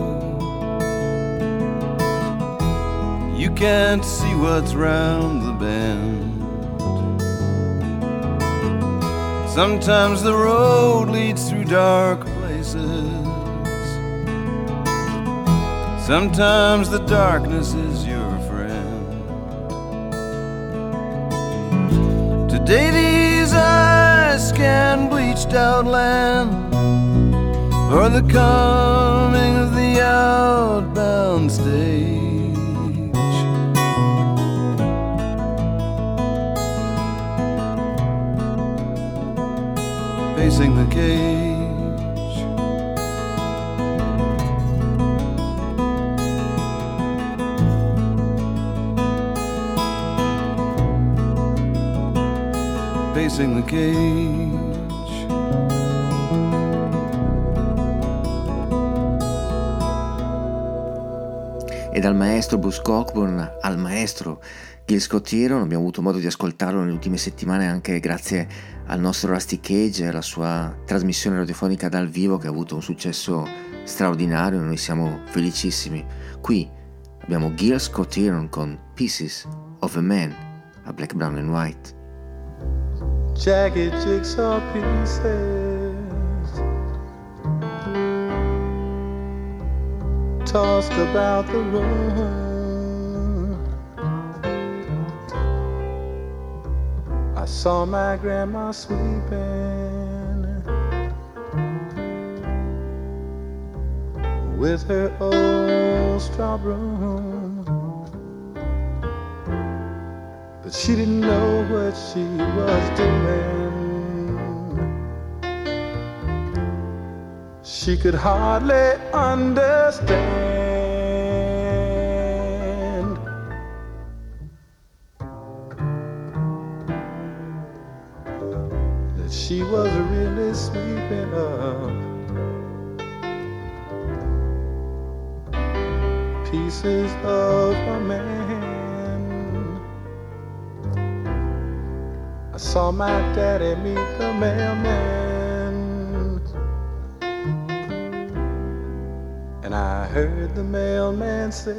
You can't see what's round the bend. Sometimes the road leads through dark places. Sometimes the darkness is your friend. Today these eyes scan bleached out land for the coming of the outbound stage. Facing the cage. Facing the cage. E dal maestro Bruce Cockburn al maestro Gil Scott-Heron abbiamo avuto modo di ascoltarlo nelle ultime settimane anche grazie al nostro Rusty Cage e alla sua trasmissione radiofonica dal vivo che ha avuto un successo straordinario e noi siamo felicissimi. Qui abbiamo Gil Scott-Heron con Pieces of a Man a Black, Brown and White. Jagged jigsaw pieces tossed about the room. I saw my grandma sweeping with her old straw broom, but she didn't know what she was doing. She could hardly understand that she was really sweeping up pieces of a man. I saw my daddy meet the mailman, and I heard the mailman say,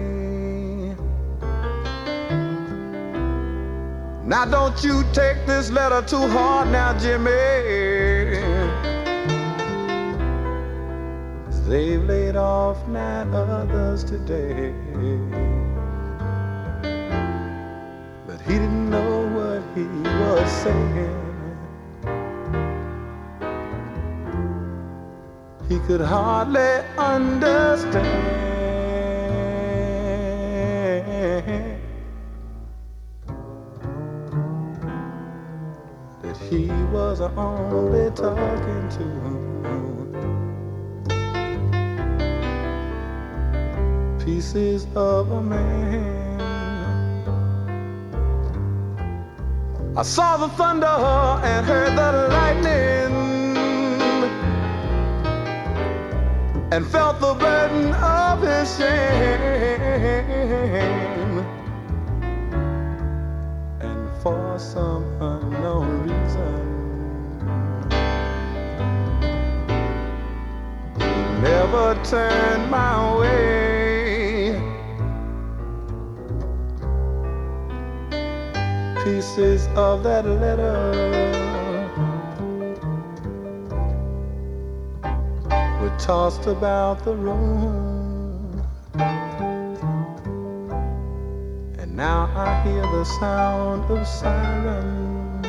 now don't you take this letter too hard now, Jimmy. They've laid off 9 others today. But he didn't know what he was saying. He could hardly understand that he was only talking to pieces of a man. I saw the thunder and heard the lightning, and felt the burden of his shame. And for some unknown reason, Never turned my way. Pieces of that letter were tossed about the room, and now I hear the sound of sirens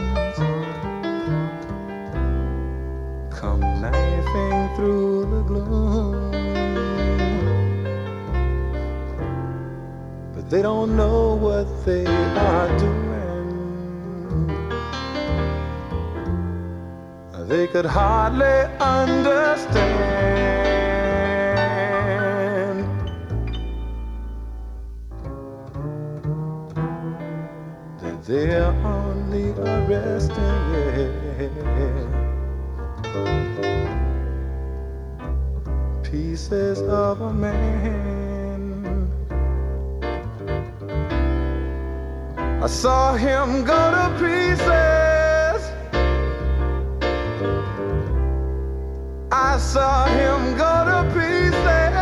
come knifing through the gloom. But they don't know what they are doing. They could hardly understand that they're only arresting pieces of a man. I saw him go to pieces. I saw him go to pieces.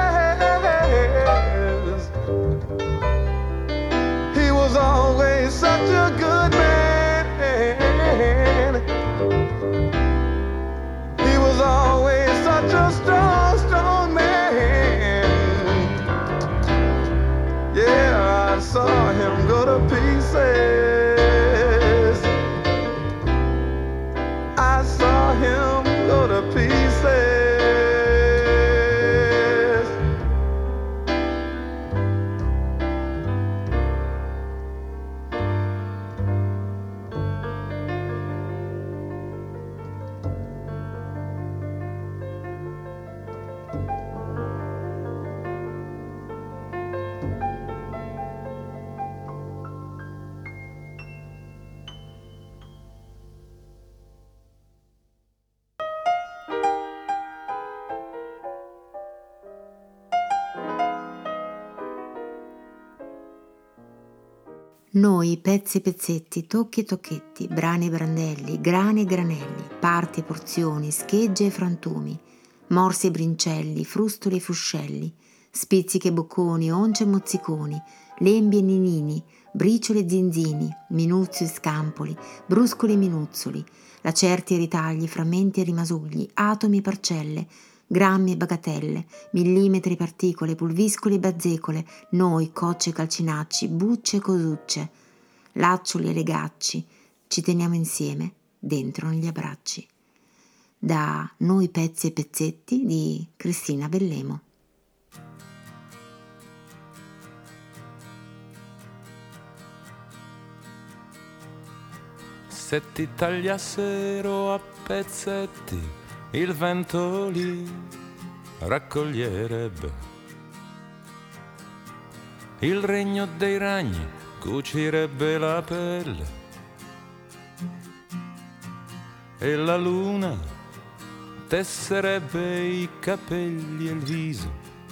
He was always such a good man. He was always such a strong, strong man. Yeah, I saw him go to pieces. I saw him go to pieces. Noi, pezzi e pezzetti, tocchi e tocchetti, brani e brandelli, grani e granelli, parti e porzioni, schegge e frantumi, morsi e brincelli, frustoli e fuscelli, spizzichi e bocconi, once e mozziconi, lembi e ninini, bricioli e zinzini, minuzzi e scampoli, bruscoli e minuzzoli, lacerti e ritagli, frammenti e rimasugli, atomi e parcelle, grammi e bagatelle, millimetri e particole, pulviscoli e bazzecole, noi, cocce e calcinacci, bucce e cosucce, laccioli e legacci, ci teniamo insieme dentro negli abbracci. Da Noi, pezzi e pezzetti di Cristina Bellemo. Se ti tagliassero a pezzetti, il vento li raccoglierebbe. Il regno dei ragni cucirebbe la pelle e la luna tesserebbe i capelli e il viso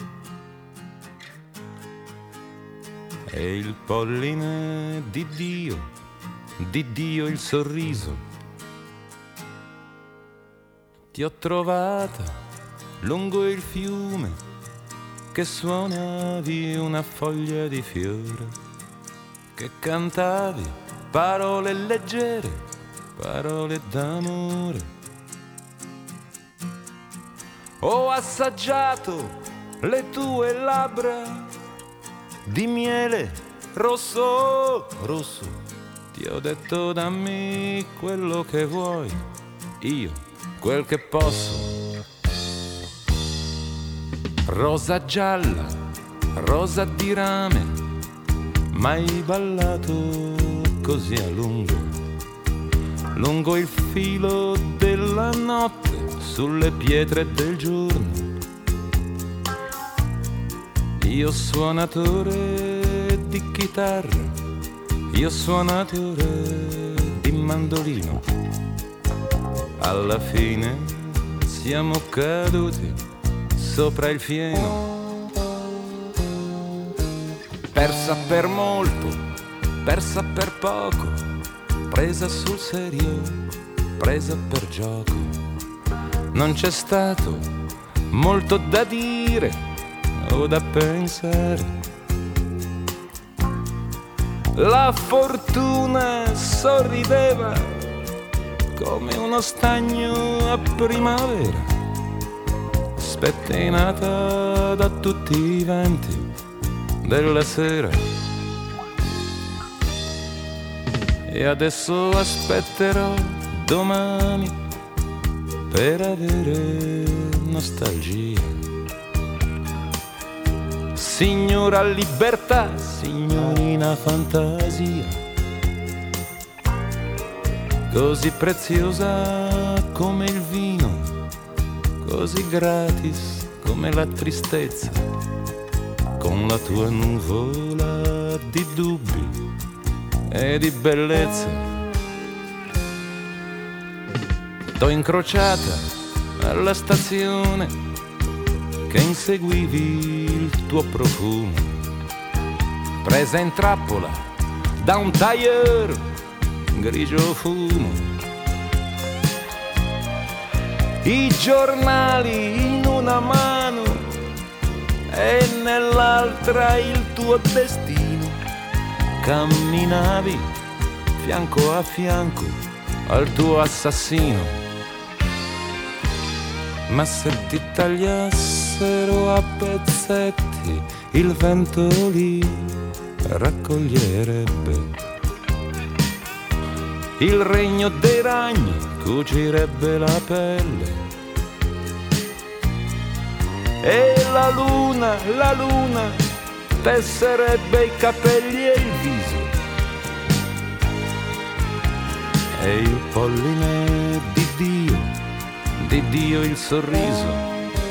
e il polline di Dio il sorriso. Ti ho trovata lungo il fiume che suonavi una foglia di fiore, che cantavi parole leggere, parole d'amore. Ho assaggiato le tue labbra di miele rosso, rosso. Ti ho detto dammi quello che vuoi, io quel che posso. Rosa gialla, rosa di rame, mai ballato così a lungo, lungo il filo della notte, sulle pietre del giorno. Io suonatore di chitarra, io suonatore di mandolino, alla fine siamo caduti sopra il fieno. Persa per molto, persa per poco, presa sul serio presa per gioco. Non c'è stato molto da dire o da pensare. La fortuna sorrideva come uno stagno a primavera, spettinata da tutti i venti della sera. E adesso aspetterò domani per avere nostalgia. Signora libertà, signorina fantasia, così preziosa come il vino, così gratis come la tristezza, con la tua nuvola di dubbi e di bellezza. T'ho incrociata alla stazione che inseguivi il tuo profumo, presa in trappola da un tailleur grigio fumo. I giornali in una mano e nell'altra il tuo destino. Camminavi fianco a fianco al tuo assassino. Ma se ti tagliassero a pezzetti, il vento li raccoglierebbe. Il regno dei ragni cucirebbe la pelle. E la luna, tesserebbe i capelli e il viso. E il polline di Dio il sorriso.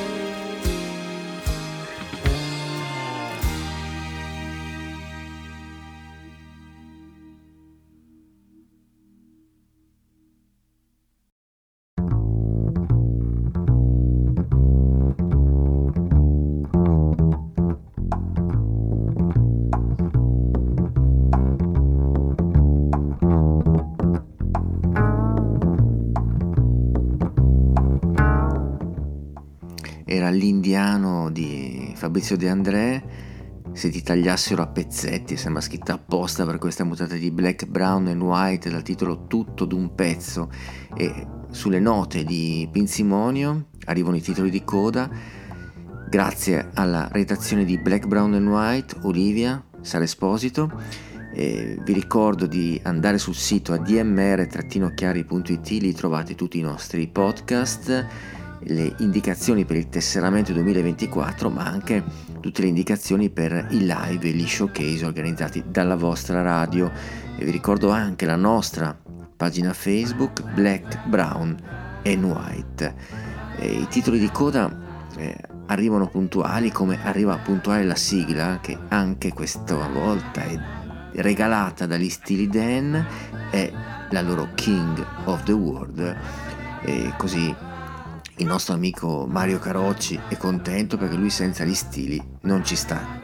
Era l'indiano di Fabrizio De André, Se ti tagliassero a pezzetti, sembra scritta apposta per questa mutata di Black, Brown and White dal titolo Tutto d'un pezzo, e sulle note di Pinzimonio arrivano i titoli di coda grazie alla redazione di Black, Brown and White, Olivia, Sara Esposito. Vi ricordo di andare sul sito admr-chiari.it, lì trovate tutti i nostri podcast, le indicazioni per il tesseramento 2024, ma anche tutte le indicazioni per i live e gli showcase organizzati dalla vostra radio. E vi ricordo anche la nostra pagina Facebook Black, Brown and White. I titoli di coda arrivano puntuali, come arriva puntuale la sigla, che anche questa volta è regalata dagli Steely Dan, è la loro King of the World. E così il nostro amico Mario Carocci è contento, perché lui senza gli stili non ci sta.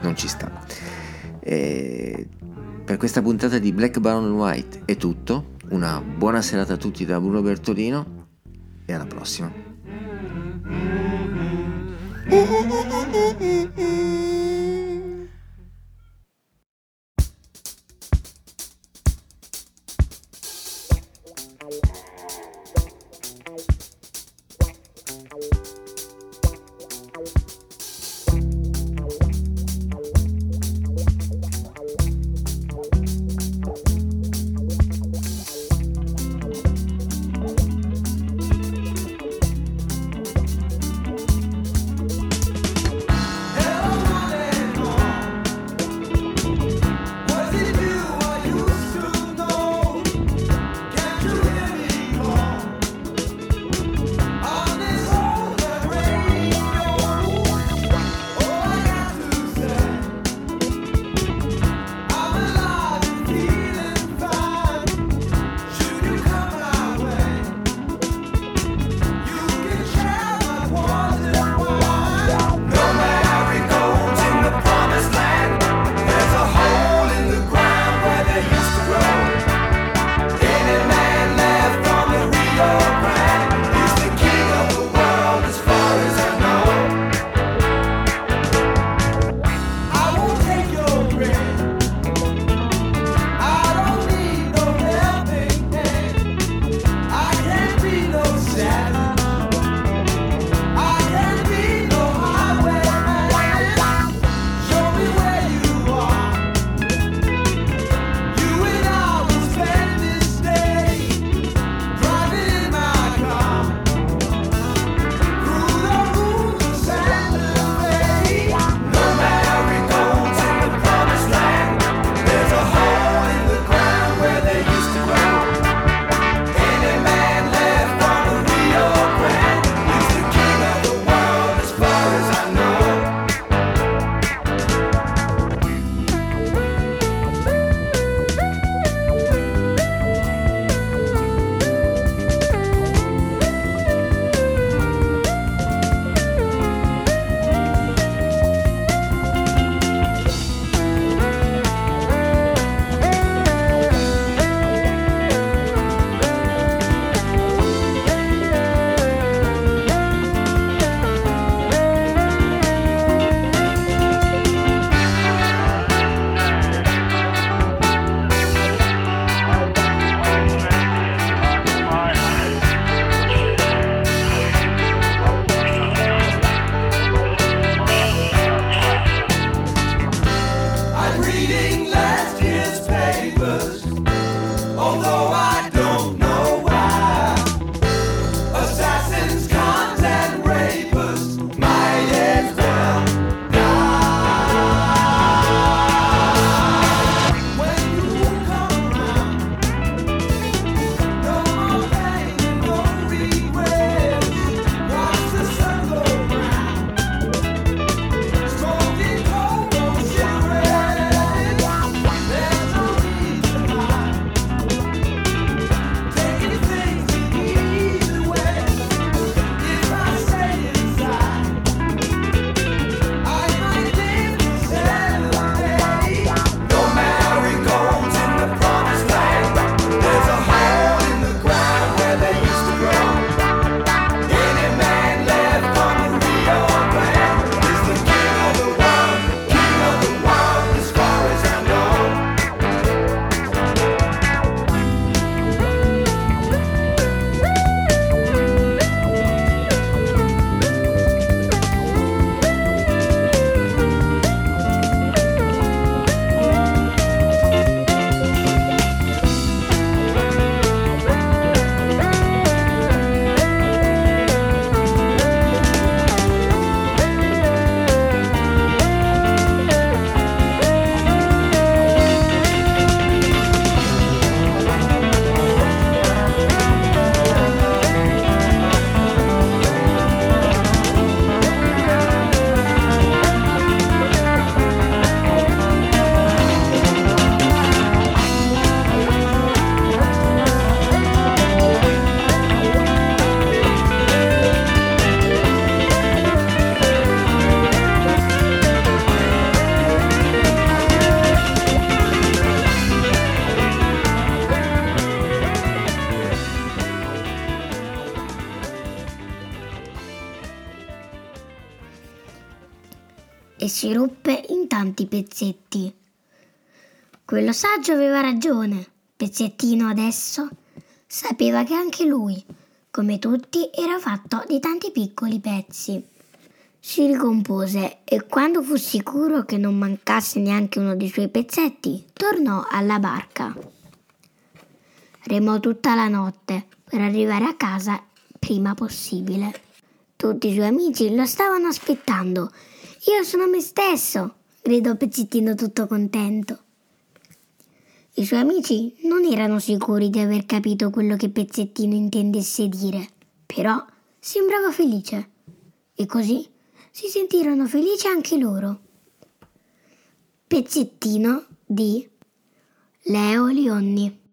Per questa puntata di Black, Brown and White è tutto. Una buona serata a tutti da Bruno Bertolino e alla prossima. Hello. e si ruppe in tanti pezzetti. Quello saggio aveva ragione. Pezzettino adesso sapeva che anche lui, come tutti, era fatto di tanti piccoli pezzi. Si ricompose e quando fu sicuro che non mancasse neanche uno dei suoi pezzetti, tornò alla barca. Remò tutta la notte per arrivare a casa prima possibile. Tutti i suoi amici lo stavano aspettando. «Io sono me stesso!» gridò Pezzettino tutto contento. I suoi amici non erano sicuri di aver capito quello che Pezzettino intendesse dire, però sembrava felice. E così si sentirono felici anche loro. Pezzettino di Leo Lionni.